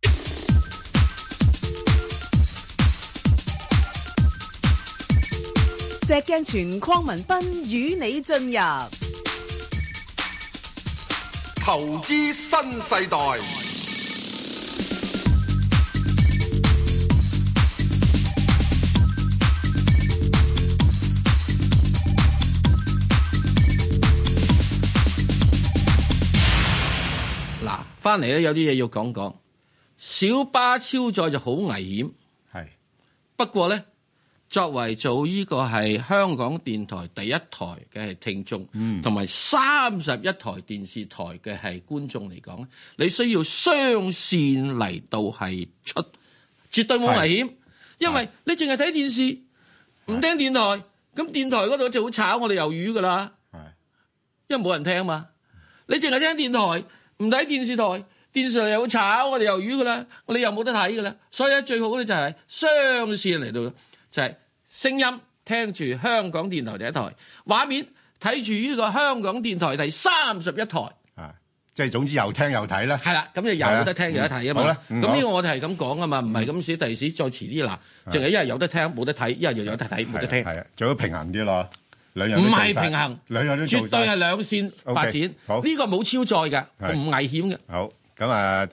石鏡泉鄺民彬與你進入投資新世代。 翻嚟咧，有啲嘢要講講。小巴超載就好危險，係。不過咧，作為做呢個係香港電台第一台嘅係聽眾，同埋三十一台電視台嘅係觀眾嚟講咧，你需要雙線嚟到係出，絕對冇危險。因為你淨係睇電視，唔聽電台，咁電台嗰度就會炒我哋魷魚噶啦。係，因為冇人聽嘛。你淨係聽電台。唔睇電視台，電視台又炒我哋魷魚噶啦，我哋又冇得睇噶啦，所以咧最好咧就係雙線嚟到，就係聲音聽住香港電台第一台，畫面睇住呢個香港電台第三十一台，啊，即係總之又聽又睇啦。係啦，咁就有得聽有得睇啊嘛。咁呢、嗯、個我哋係咁講啊嘛，唔係咁少第時再遲啲嗱，淨係一係有得聽冇得睇，一係又有得睇冇得聽。係啊，最好平衡啲咯。唔係平衡，兩樣都做，絕對係兩線發展。Okay, 好，呢個冇超載嘅，唔危險嘅。好，咁啊嗱，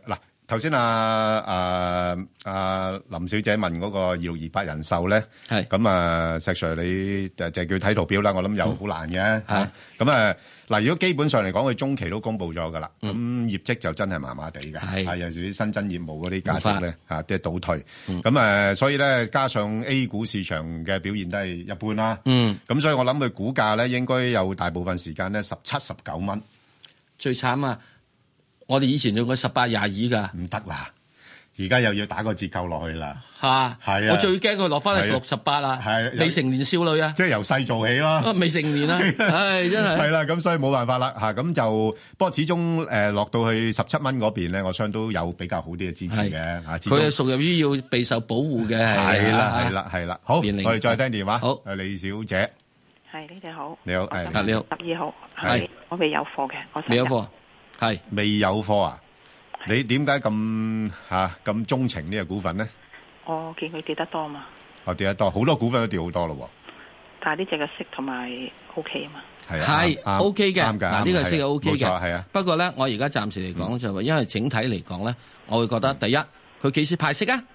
頭先啊啊啊林小姐問嗰個二六二八人壽咧，係咁啊，石 Sir 你就就叫睇圖表啦，我諗又好難嘅嚇。咁啊嗱，如果基本上嚟講，佢中期都公布咗噶啦，咁業績就真係麻麻地嘅，係有時啲新增業務嗰啲價值咧嚇，即係倒退。咁誒，所以咧加上 A 股市場嘅表現都係一般啦。嗯，咁所以我諗佢股價咧應該有大部分時間咧十七十九蚊。 最慘啊！我哋以前用過十八廿二㗎， 唔得啦！而家又要打個折扣落去啦， 嚇係啊！我最驚佢落翻去十六十八啦，係未成年少女啊， 即係由細做起咯， 未成年啊，係真係係啦， 咁所以冇辦法啦嚇，咁就不過始終誒落到去十七蚊嗰邊咧，我相信都有比較好啲嘅支持嘅嚇。 佢係屬於於要備受保護嘅， 係啦係啦係啦。好，我哋再聽電話。好，李小姐， 係你哋好， 你好，係你好， 十二號係我未有貨嘅，我未有貨。係未有貨啊？你點解咁吓咁鍾情呢個股份咧？ 我見佢跌得多嘛。 我跌得多，好多股份都跌好多咯。 但係呢隻嘅息同埋 O K 啊嘛。 係啊， 係 O K 嘅。 啱㗎， 嗱呢個息係 O K 嘅。 冇錯，係啊。 不過咧，我而家暫時嚟講就話，因為整體嚟講咧，我會覺得第一，佢幾時派息啊？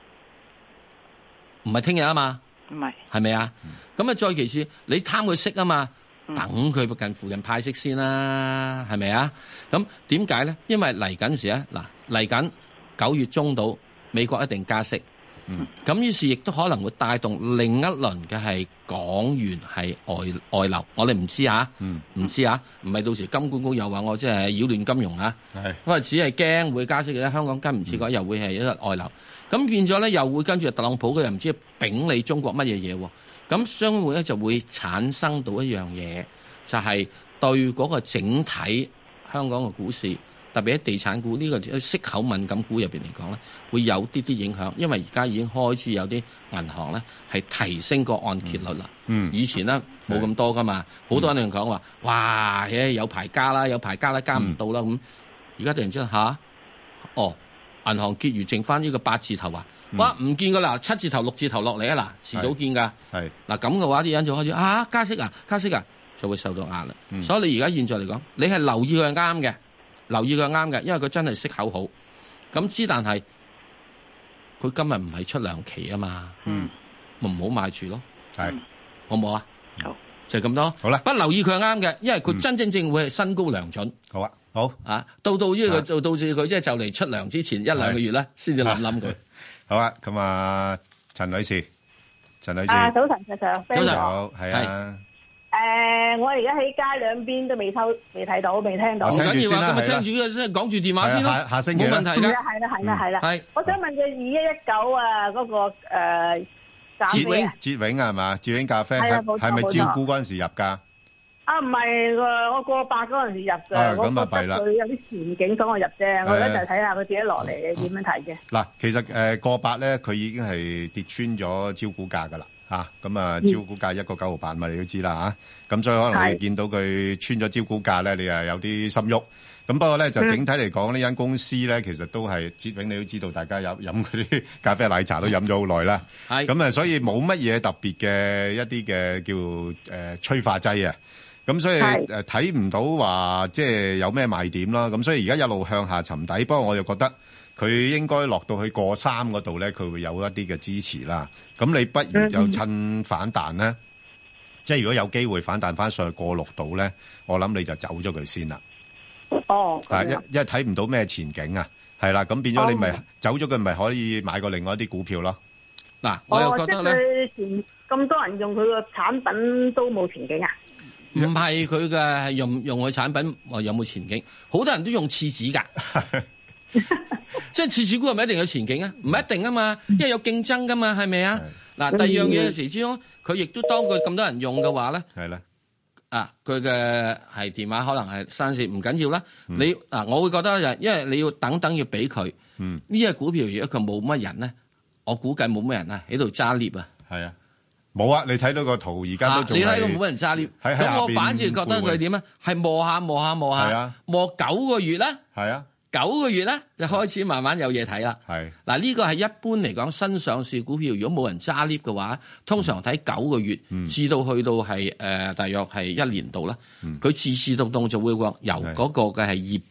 唔係聽日啊嘛。 唔係。係咪啊？咁啊，再其次，你貪佢息啊嘛。等佢近附近派息先啦，係咪啊？咁點解咧？因為嚟緊時咧，嗱嚟緊九月中到美國一定加息，嗯，咁於是亦都可能會帶動另一輪嘅係港元係外外流，我哋唔知啊，嗯，唔知啊，唔係到時金管局又話我即係擾亂金融啊，係，因為只係驚會加息嘅啫，香港跟唔切嘅話又會係一個外流，咁變咗咧又會跟住特朗普佢又唔知丙你中國乜嘢嘢喎。咁相互咧就會產生到一樣嘢，就係、是、對嗰個整體香港嘅股市，特別喺地產股呢個息口敏感股入邊嚟講咧，會有啲啲影響，因為而家已經開始有啲銀行咧係提升個按揭率啦。嗯，以前咧冇咁多噶嘛，好、嗯、多人講話，哇，誒有排加啦，有排加啦，加唔到啦咁。而家突然之間吓，哦，銀行結餘剩翻呢個八字頭啊！哇！唔見噶啦，七字頭六字頭落嚟啊！嗱，遲早見噶。係嗱咁嘅話，啲人就開始啊加息啊加息啊，就會受到壓力。嗯、所以你而家現在嚟講，你係留意佢係啱嘅，留意佢係啱嘅，因為佢真係息口好。咁之但係佢今日唔係出糧期啊嘛，嗯，咪唔好買住咯。係、嗯，好唔好啊？好，就係咁多。好啦，不留意佢係啱嘅，因為佢真真正會係新高糧準。好啊，好啊，到到呢個到到至佢即係就嚟出糧之前一兩個月咧，先至諗諗佢。好啊，咁啊，陳女士，陳女士， 啊，早晨，早晨， 早晨，好，係啊， 誒，我而家喺街兩邊都未收，未睇到，未聽到。 唔緊要啊， 咁咪聽住呢個先，講住電話先咯， 下下星期冇問題嘅。 係啦，係啦，係啦，係。我想問佢二一一九啊，嗰個誒， 捷永，捷永係嘛？捷永咖啡係係咪招股嗰陣時入噶？ 啊，唔係喎，我過百嗰陣時入嘅，我覺得佢有啲前景，所以我入啫。我而家就睇下佢自己落嚟點樣睇嘅。 嗱，其實誒過百咧，佢已經係跌穿咗招股價噶啦嚇。咁啊，招股價一個九毫八嘛，你都知啦嚇。咁所以可能你見到佢穿咗招股價咧，你係有啲心喐。咁不過咧，就整體嚟講，呢間公司咧，其實都係捷永，你都知道，大家有飲嗰啲咖啡奶茶都飲咗好耐啦。係。咁啊，所以冇乜嘢特別嘅一啲嘅叫誒催化劑啊。咁所以誒睇唔到話即係有咩賣點啦，咁所以而家一路向下沉底，不過我又覺得佢應該落到去過三嗰度咧，佢會有一啲嘅支持啦。咁你不如就趁反彈咧，即係如果有機會反彈翻上去過六度咧，我諗你就走咗佢先啦。 哦， 啊一一睇唔到咩前景啊，係啦，咁變咗你咪走咗佢，咪可以買過另外一啲股票咯。嗱，我又覺得咧， 咁多人用佢個產品都冇前景啊？ 唔係佢嘅，係用用佢產品，話有冇前景？好多人都用廁紙噶，即係廁紙股係咪一定有前景啊？唔一定啊嘛，因為有競爭噶嘛，係咪啊？嗱，第二樣嘢嘅時之中，佢亦都當佢咁多人用嘅話咧，係啦，啊，佢嘅係電話可能係三四唔緊要啦。你嗱，我會覺得就因為你要等等要俾佢，嗯，呢隻股票如果佢冇乜人咧，我估計冇乜人啊喺度揸 lift 啊，係啊。 冇啊！你睇到個圖，而家都仲係。你睇到冇乜人揸 lift，咁我反而覺得佢點咧？係磨下磨下磨下，磨九個月啦。係啊，九個月咧就開始慢慢有嘢睇啦。係嗱，呢個係一般嚟講新上市股票，如果冇人揸 lift 嘅話，通常睇九個月至到去到係誒大約係一年度啦。佢自自動動就會由嗰個嘅係業績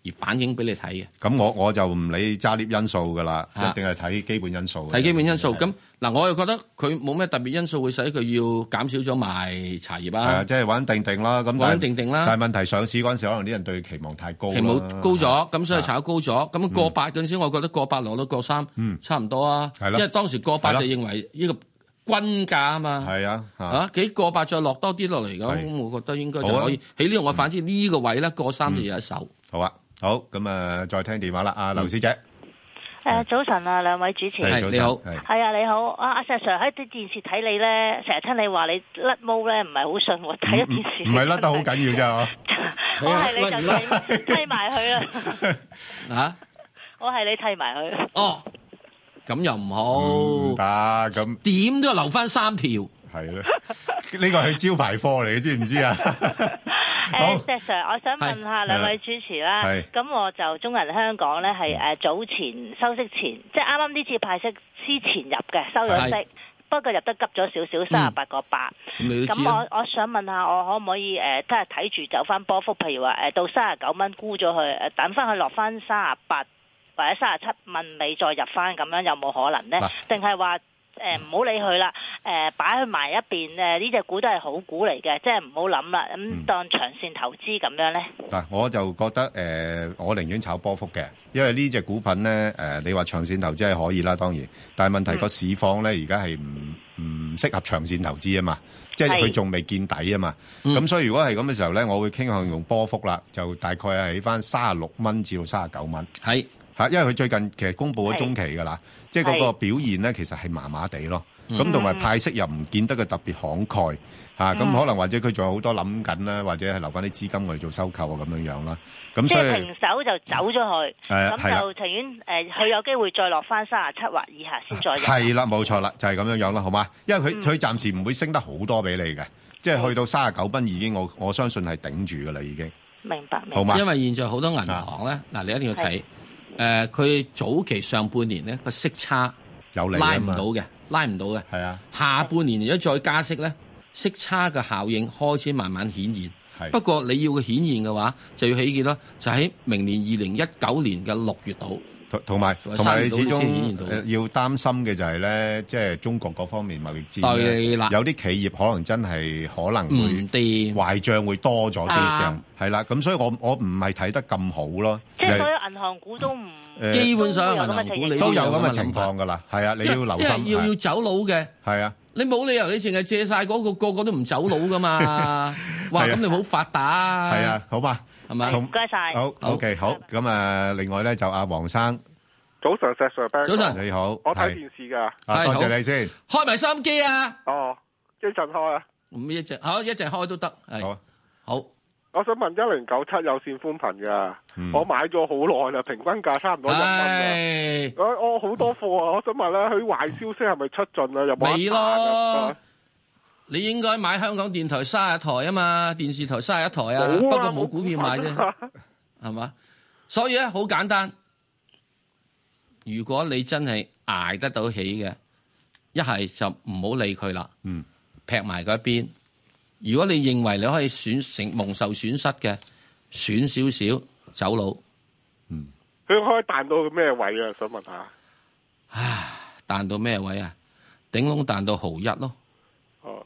而反映俾你睇嘅。 咁我我就唔理揸 lift 因素噶啦，一定係睇基本因素。 睇基本因素。咁嗱，我又覺得佢冇咩特別因素會使佢要減少咗賣茶葉啊。 係啊，即係穩定定啦。咁穩定定啦。 但係問題上市嗰陣時，可能啲人對期望太高。 期望高咗，咁所以炒高咗。咁過百嗰陣時，我覺得過百落到過三，差唔多啊。係咯。因為當時過百就認為呢個均價啊嘛。係啊。嚇幾過百再落多啲落嚟咁，我覺得應該就可以。喺呢度我反之呢個位咧過三就有一手。 好啊。好，咁啊，再聽電話啦，阿劉小姐。 誒，早晨啊，兩位主持。 係你好。 係啊，你好。阿阿石 Sir 喺啲電視睇你咧，成日聽你話你甩毛咧，唔係好信喎。睇咗電視。唔係甩得好緊要啫。 我係你就剃剃埋佢啦。 啊？ 我係你剃埋佢。 哦，咁又唔好。 唔得，咁點都要留翻三條。 係咧，呢個係招牌貨嚟，你知唔知啊？ 誒，石 Sir，我想問下兩位主持啦。咁我就中銀香港咧係誒早前收息前，即係啱啱呢次派息之前入嘅，收咗息，不過入得急咗少少，三十八個八。咁我我想問下，我可唔可以誒，即係睇住走翻波幅？譬如話誒到三十九蚊沽咗佢，誒等翻佢落翻三十八或者三十七蚊尾再入翻，咁樣有冇可能咧？定係話？誒唔好理佢啦，誒擺佢埋一邊，誒呢隻股都係好股嚟嘅，即係唔好諗啦，咁、嗯、當長線投資咁樣咧。 嗱，我就覺得誒、呃，我寧願炒波幅嘅，因為呢隻股份咧，誒、呃、你話長線投資係可以啦，當然，但係問題個市況咧而家係唔唔適合長線投資啊嘛，即係佢仲未見底啊嘛，咁、嗯、所以如果係咁嘅時候咧，我會傾向用波幅啦，就大概係喺翻三十六蚊至到三十九蚊。係。因為佢最近其實公布咗中期㗎啦，即係嗰個表現咧，其實係麻麻地咯。咁同埋派息又唔見得佢特別慷慨嚇，咁、嗯、可能或者佢仲有好多諗緊啦，或者係留翻啲資金我哋做收購啊咁樣樣啦。咁所以即係平手就走咗去，咁、嗯、就情願誒，佢、呃、有機會再落翻三十七或以下先再入。係啦， 冇錯啦，就係、是、咁樣樣啦，好嘛？因為佢佢、嗯、暫時唔會升得好多俾你嘅，即係去到三十九蚊已經我我相信係頂住㗎啦，已經。 明白， 好嘛？ 因為現在好多銀行咧，嗱你一定要睇。誒，佢、呃、早期上半年咧個息差有拉唔到嘅，拉唔到嘅。係啊，下半年如果再加息咧，息差嘅效應開始慢慢顯現。係，不過你要佢顯現嘅話，就要起幾多？就喺明年二零一九年嘅六月度。同同埋同埋，你始終要擔心嘅就係咧，即係中國嗰方面貿易戰咧，有啲企業可能真係可能會壞帳會多咗啲嘅，係啦。咁所以我我唔係睇得咁好咯。 即係所有銀行股都唔， 基本上銀行股你都有咁嘅情況㗎啦。係啊，你要留心。 要要走佬嘅。係啊，你冇理由你淨係借曬嗰個個個都唔走佬㗎嘛？哇！咁你好發達。係啊， 好嘛。係咪？ 唔該晒。 好 ，OK，好。咁啊，另外咧就阿黃生， 早晨，石 Sir， 早晨， 你好。 我睇電視㗎。 多謝你先。 開埋收音機啊！ 哦，一陣開啊。 唔一陣，好一陣開都得。係。好。 我想問一零九七有線寬頻㗎，我買咗好耐啦，平均價差唔多一蚊啦。我我好多貨啊，我想問咧，佢壞消息係咪出盡啊？有冇得彈啊？ 你應該買香港電台卅台啊嘛，電視台卅一台啊，不過冇股票買啫，係嘛？所以咧好簡單，如果你真係捱得到起嘅，一係就唔好理佢啦，嗯，劈埋嗰一邊。如果你認為你可以損成蒙受損失嘅，損少少走佬， 嗯，佢可以彈到咩位啊？想問下， 唉，彈到咩位啊？頂籠彈到毫一咯。 哦。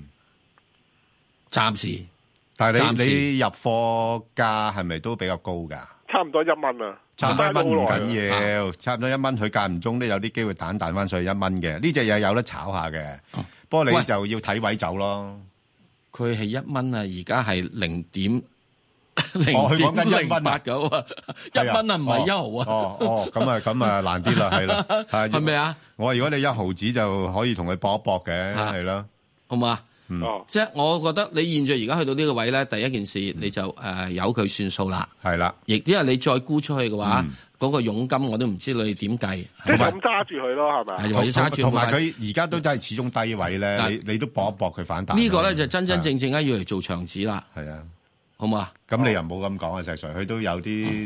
暫時， 但係你你入貨價係咪都比較高㗎？ 差唔多一蚊啊！ 差唔多一蚊唔緊要，差唔多一蚊，佢間唔中都有啲機會彈彈翻上去一蚊嘅。呢隻嘢有得炒下嘅，哦、不過你就要睇位走咯。 佢係一蚊啊，而家係零點零點零八九啊，一蚊啊唔係一毫啊。 哦哦，咁啊咁啊難啲啦，係啦， 係咪啊？ 我如果你一毫子就可以同佢搏一搏嘅，係啦， 好嘛？ 嗯， 即係我覺得你現在而家去到呢個位咧，第一件事你就誒由佢算數啦， 係啦， 亦因為你再沽出去嘅話，嗰個佣金我都唔知你點計， 即係咁揸住佢咯，係咪？ 係同埋佢而家都真係始終低位咧，你你都搏一搏佢反彈。 呢個咧就真真正正咧要嚟做長子啦， 係啊， 好嘛？ 咁你又唔好咁講啊，石 Sir，佢都有啲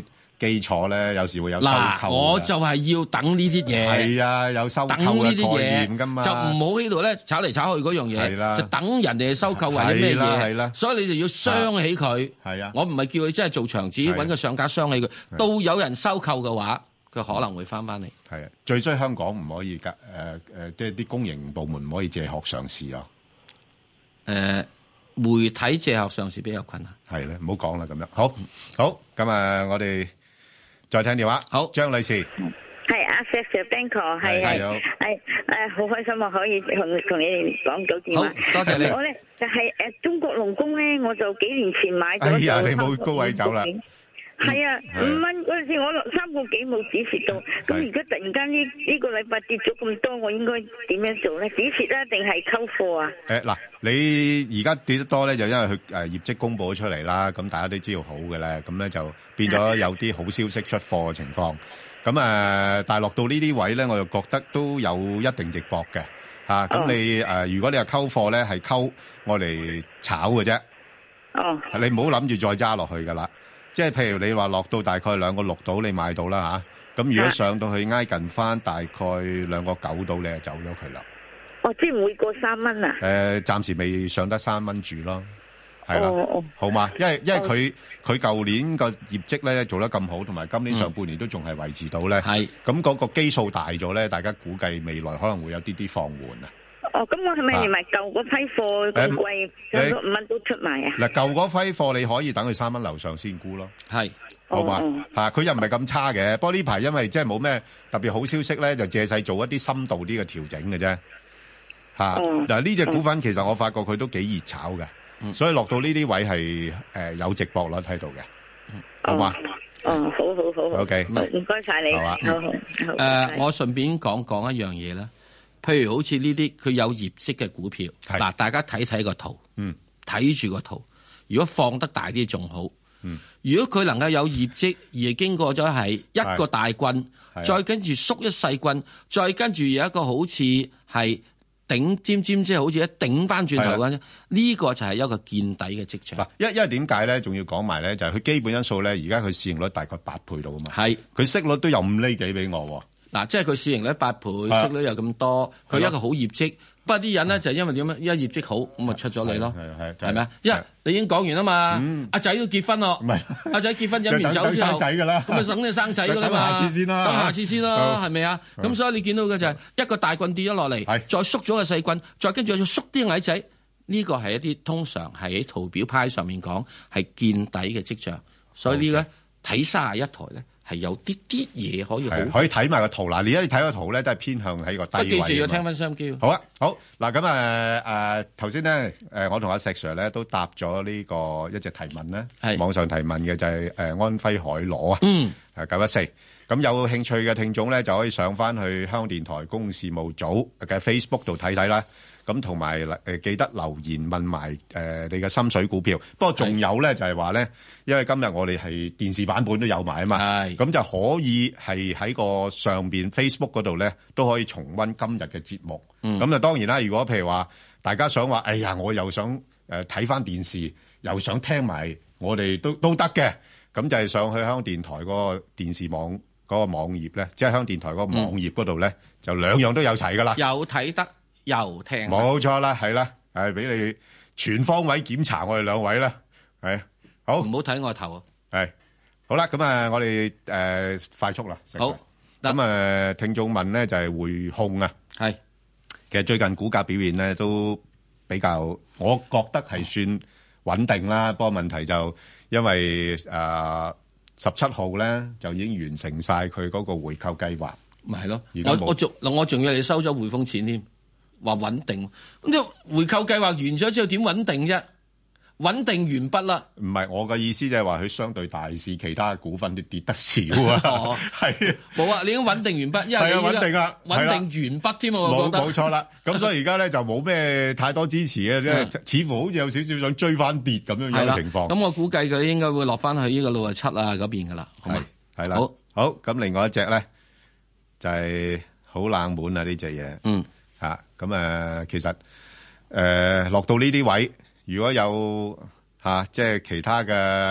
基礎咧，有時會有收購。嗱， 我就係要等呢啲嘢。 係啊，有收購嘅概念㗎嘛， 就唔好喺度咧炒嚟炒去嗰樣嘢，就等人哋收購或者咩嘢。係啦，所以你就要傷起佢。係啊，我唔係叫佢真係做長子，揾個上家傷起佢。到有人收購嘅話，佢可能會翻翻嚟。係啊， 最衰香港唔可以㗎。誒誒，即係啲公營部門唔可以借殼上市咯。 誒。媒體借殼上市比較困難， 係咧，唔好講啦咁樣。好，好，咁啊，我哋再聽電話。好，張女士， 係阿 Sir Ben 哥，係係係誒，好開心啊，可以同同你哋講到電話。 好，多謝你。 我咧就係誒中國龍工咧，我就幾年前買咗。 哎呀，你冇高位走啦。 係啊，五蚊嗰陣時我落三個幾冇止蝕到，咁而家突然間呢呢個禮拜跌咗咁多，我應該點樣做咧？止蝕啊，定係溝貨啊？ 誒嗱，你而家跌得多咧，就因為佢誒業績公佈咗出嚟啦，咁大家都知道好嘅咧，咁咧就變咗有啲好消息出貨嘅情況。咁誒，但係落到呢啲位咧，我就覺得都有一定值博嘅嚇。咁你誒，如果你係溝貨咧，係溝我嚟炒嘅啫。哦，你唔好諗住再揸落去噶啦。即係譬如你話落到大概兩個六度，你買到啦嚇。咁如果上到去挨近翻大概兩個九度，你就走咗佢啦。 哦，即係唔會過三蚊啊？ 誒，暫時未上得三蚊住咯，係啦。哦哦，好嘛，因為因為佢佢舊年個業績咧做得咁好，同埋今年上半年都仲係維持到咧。係。咁嗰個基數大咗咧，大家估計未來可能會有啲啲放緩啊。 哦，咁我係咪連埋舊嗰批貨咁貴，上咗五蚊都出埋啊？ 嗱，舊嗰批貨你可以等佢三蚊樓上先沽咯。係，好嘛嚇？佢又唔係咁差嘅。不過呢排因為即係冇咩特別好消息咧，就借勢做一啲深度啲嘅調整嘅啫。嚇！嗱，呢隻股份其實我發覺佢都幾熱炒嘅，所以落到呢啲位係誒有值博率喺度嘅，好嘛？ 哦，好好好好。 O K， 唔該曬你。好啊。好好。 誒，我順便講講一樣嘢啦。譬如好似呢啲佢有業績嘅股票，嗱，大家睇睇個圖，睇住個圖。如果放得大啲仲好。嗯、如果佢能夠有業績，而係經過咗係一個大棍，再跟住縮一細棍，再跟住有一個好似係頂尖尖，即係好似一頂翻轉頭咁，呢、這個就係一個見底嘅跡象。嗱， 因因為點解咧？仲要講埋咧，就係、是、佢基本因素咧，而家佢市盈率大概八倍到啊嘛。係，佢息率都有五厘幾俾我。 嗱，即係佢市盈率八倍，息率又咁多，佢一個好業績。不過啲人咧就係因為點樣？因為業績好，咁咪出咗嚟咯，係咪啊？因為你已經講完啦嘛，阿仔都結婚咯，阿仔結婚飲完酒之後，咁咪等你生仔噶啦嘛，等下次先啦，等下次先咯，係咪啊？咁所以你見到嘅就係一個大棍跌咗落嚟，再縮咗個細棍，再跟住再縮啲矮仔，呢個係一啲通常係喺圖表派上面講係見底嘅跡象，所以呢個睇三十一台咧。係有啲啲嘢可以好， 可以睇埋個圖嗱。你而家睇個圖咧，都係偏向喺個低位。 記住要聽翻收音機。 好啊，好嗱，咁誒誒頭先咧誒，我同阿石 Sir 咧都答咗呢個一隻提問咧，係網上提問嘅就係誒安徽海螺啊，嗯，係九一四。咁有興趣嘅聽眾咧，就可以上翻去香港電台公共事務組嘅 Facebook 度睇睇啦。咁同埋誒記得留言問埋誒、呃、你嘅心水股票。不過仲有咧就係話咧，因為今日我哋係電視版本都有埋啊嘛，咁就可以係喺個上邊 Facebook 嗰度咧都可以重溫今日嘅節目。咁、嗯、就當然啦，如果譬如話大家想話，哎呀我又想誒睇翻電視，又想聽埋我哋都都得嘅，咁就係上去香港電台嗰個電視網嗰、嗰個網頁咧，即係香港電台嗰個網頁嗰度咧，就兩樣都有齊噶啦， 有睇得。又聽冇錯啦，係啦，係俾你全方位檢查我哋兩位啦，係好唔好睇我頭啊？ 係好啦，咁啊，我哋誒、呃、快速啦，好咁啊、呃，聽眾問咧就係匯控啊，係其實最近股價表現咧都比較，我覺得係算穩定啦。不過問題就因為誒十七號咧就已經完成晒佢嗰個回購計劃， 咪係咯？我我仲我仲要你收咗匯豐錢添。話穩定，咁即係回購計劃完咗之後點穩定啫？穩定完畢啦。 唔係我嘅意思，就係話佢相對大市，其他股份都跌得少啊。係冇啊，你已經穩定完畢，因為係啊穩定啦， 穩定完畢添啊。我覺得冇錯啦。咁所以而家咧就冇咩太多支持嘅，即係似乎好似有少少想追翻跌咁樣樣嘅情況。 咁我估計佢應該會落翻去呢個六十七啊嗰邊噶啦。係係啦。好，好咁，另外一隻咧就係好冷門啊呢隻嘢。嗯。啊，咁誒，其實誒、呃、落到呢啲位，如果有嚇、啊，即係其他嘅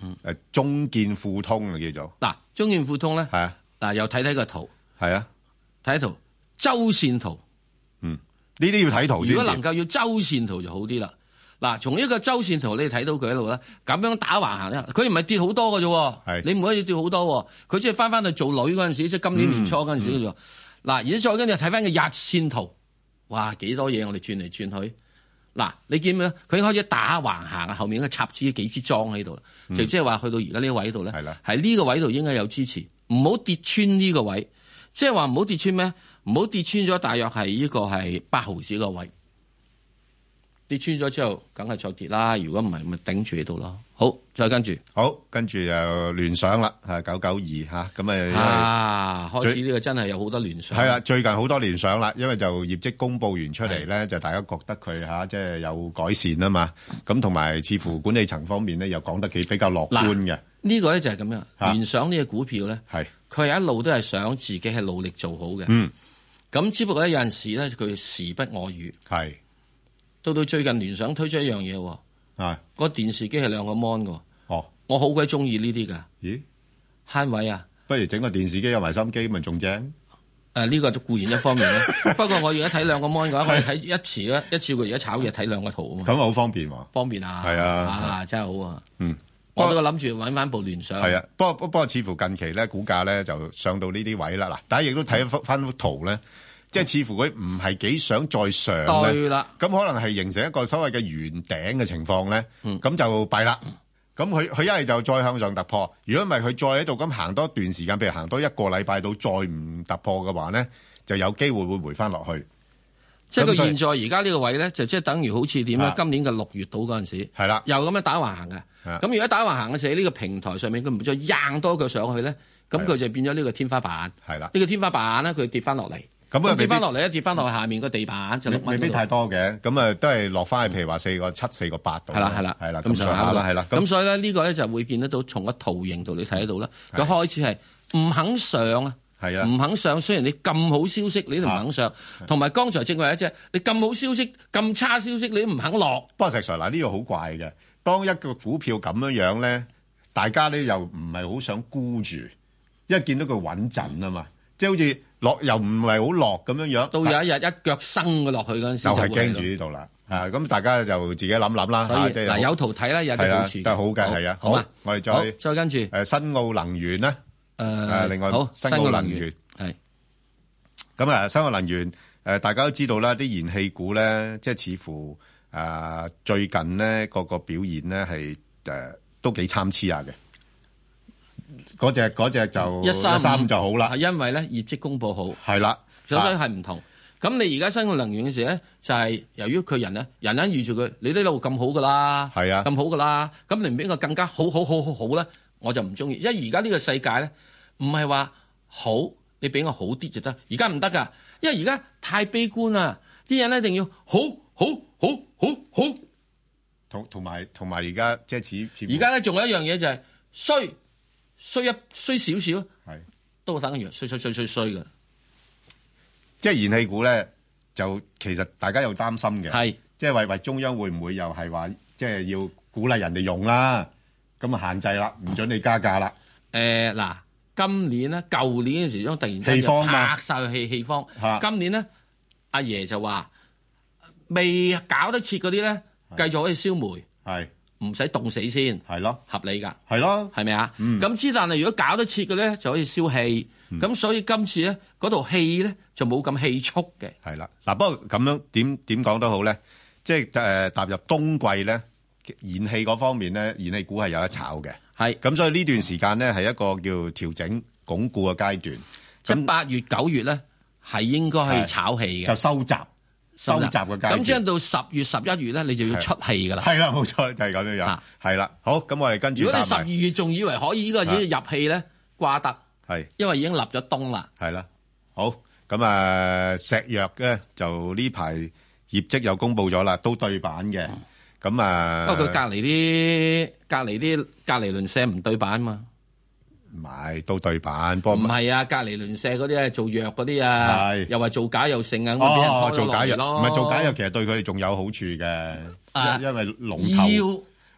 誒中建富通啊叫做。 嗱，中建富通咧， 係啊， 嗱又睇睇個圖， 係啊， 睇圖周線圖， 嗯，呢啲要睇圖先。 如果能夠要周線圖就好啲啦。嗱，從一個周線圖你睇到佢喺度咧，咁樣打橫行咧，佢唔係跌好多嘅啫，你唔可以跌好多，佢即係翻翻去做女嗰陣時，即係今年年初嗰陣時嘅啫。嗱、嗯，而家再跟住睇翻個日線圖，哇，幾多嘢我哋轉嚟轉去。嗱，你見唔見？佢已經開始打橫行啊，後面應該插住幾支樁喺度啦，就即係話去到而家呢個位度咧，係呢個位度應該有支持，唔好跌穿呢個位，即係話唔好跌穿咩？唔好跌穿咗，大約係呢個係八毫子個位。跌穿咗之後，梗係再跌啦。如果唔係，咪頂住喺度咯。好，再跟住， 好，跟住又聯想啦，係九九二吓，咁啊， 啊，開始呢個真係有好多聯想。 係啦，最近好多聯想啦，因為就業績公佈完出嚟咧，就大家覺得佢吓即係有改善啊嘛。咁同埋似乎管理層方面咧，又講得幾比較樂觀嘅。 呢個咧就係咁樣，聯想呢個股票咧，係佢係一路都係想自己係努力做好嘅。嗯，咁只不過咧有陣時咧，佢時不我與。係。到到最近聯想推出一樣嘢喎，係個電視機係兩個 mon 嘅，哦，我好鬼中意呢啲噶，咦，慳位啊， 不如整個電視機有埋心機咪仲正？誒、 呃，呢、這個就固然一方面啦，不過我而家睇兩個 mon 嘅話，我哋睇一次咧，一次過而家炒嘢睇兩個圖啊嘛， 咁好方便喎， 方便啊， 係啊， 啊真係好啊， 嗯， 我都諗住搵翻部聯想， 係啊，不過不過似乎近期咧股價咧就上到呢啲位啦，嗱，大家亦都睇翻幅圖咧。即係似乎佢唔係幾想再上咧，對啦，咁可能係形成一個所謂嘅圓頂嘅情況咧，咁、嗯、就弊啦。咁佢佢一係就再向上突破，如果唔係佢再喺度咁行多一段時間，譬如行多一個禮拜到再唔突破嘅話咧，就有機會會回翻落去。 即係佢現在而家呢個位咧，就即係等於好似點咧？今年嘅六月到嗰陣時，係啦，又咁樣打橫行嘅。咁如果打橫行嘅時候，呢、呢個平台上面佢唔再硬多腳上去咧，咁佢就變咗呢個天花板。係啦，呢、呢個天花板咧，佢跌翻落嚟。咁啊跌翻落嚟，一跌翻落去下面個地板就六蚊。 未必太多嘅，咁啊都係落翻去，譬如話四個七、四個八度。係啦，係啦，係啦，咁上下啦，係啦。 咁所以咧，呢個咧就會見得到，從個圖形度你睇得到啦。佢開始係唔肯上啊，係啊，唔肯上。雖然你咁好消息，你都唔肯上。同埋剛才正話一隻，你咁好消息、咁差消息，你都唔肯落。 不過石 Sir 嗱，呢個好怪嘅。當一個股票咁樣樣咧，大家咧又唔係好想沽住，因為見到佢穩陣啊嘛，即係好似。落又唔係好落咁樣樣，到有一日一腳生嘅落去嗰陣時， 就係驚住呢度啦。啊，咁大家就自己諗諗啦。 所以嗱，有圖睇啦，有啲好處， 都係好嘅，係啊。好，我哋再再跟住誒新奧能源咧。誒，另外好新奧能源係。咁啊，新奧能源誒，大家都知道啦，啲燃氣股咧，即係似乎誒最近咧個個表現咧係誒都幾參差下嘅。嗰隻嗰隻就一三三就好啦， 係因為咧業績公佈好， 係啦， 所以係唔同。咁、啊、你而家新嘅能源嘅時咧，就係、是、由於佢人咧，人人預住佢，你呢度咁好噶啦，係啊，咁好噶啦，咁你唔俾個更加好好好好好咧，我就唔中意。因為而家呢個世界咧，唔係話好，你俾我好啲就得。而家唔得噶，因為而家太悲觀啦，啲人咧一定要好好好好好。 同同埋同埋而家即係似而家咧仲有一樣嘢就係、是、衰。衰一衰少少，係都等於衰衰衰衰衰嘅。 即係燃氣股咧，就其實大家又擔心嘅，係即係為為中央會唔會又係話，即係要鼓勵人哋用啦，咁啊限制啦，唔准你加價啦。 誒嗱，今年咧，舊年嘅時候突然間拍晒氣氣方，今年咧，阿爺就話未搞得切嗰啲咧，繼續可以燒煤。係。唔使凍死先，係咯，合理㗎， 係咯， 係咪啊？咁之但係如果搞得切嘅咧，就可以燒氣。咁、嗯、所以今次咧，嗰度氣咧就冇咁氣促嘅。 係啦，嗱，不過咁樣點點講都好咧，即係誒踏入冬季咧，燃氣嗰方面咧，燃氣股係有得炒嘅。係，咁所以呢段時間咧係一個叫調整鞏固嘅階段。 即係八月九月咧係應該係炒氣嘅， 就收集。收集嘅階段， 咁將到十月十一月咧，你就要出氣噶啦。 係啦，冇錯，就係咁樣樣。係啦，好，咁我哋跟住。 如果你十二月仲以為可以呢個已經入氣咧，掛得。係，因為已經立咗冬啦。 係啦，好，咁啊，石藥咧就呢排業績又公布咗啦，都對版嘅。咁啊， 不過佢隔離啲隔離啲隔離鄰舍唔對版嘛。 唔係都對版，不過唔係啊！隔離鄰舍嗰啲係做藥嗰啲啊，又話做假又剩啊，咁俾人拖咗落嚟咯。 唔係做假藥，其實對佢哋仲有好處嘅，啊、因為龍頭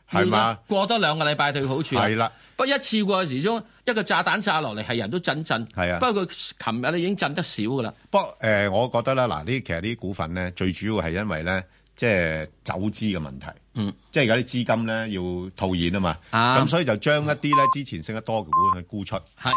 係嘛？ 過多兩個禮拜對好處係啦。 不過一次過嘅時鐘一個炸彈炸落嚟，係人都震震。 係啊。 不過佢琴日咧已經震得少噶啦。 不過誒、呃，我覺得咧，嗱，呢其實呢啲股份咧，最主要係因為咧，即係走資嘅問題。 嗯。 即係而家啲資金咧要套現啊嘛。咁、啊、所以就將一啲咧之前升得多嘅股去沽出。 係。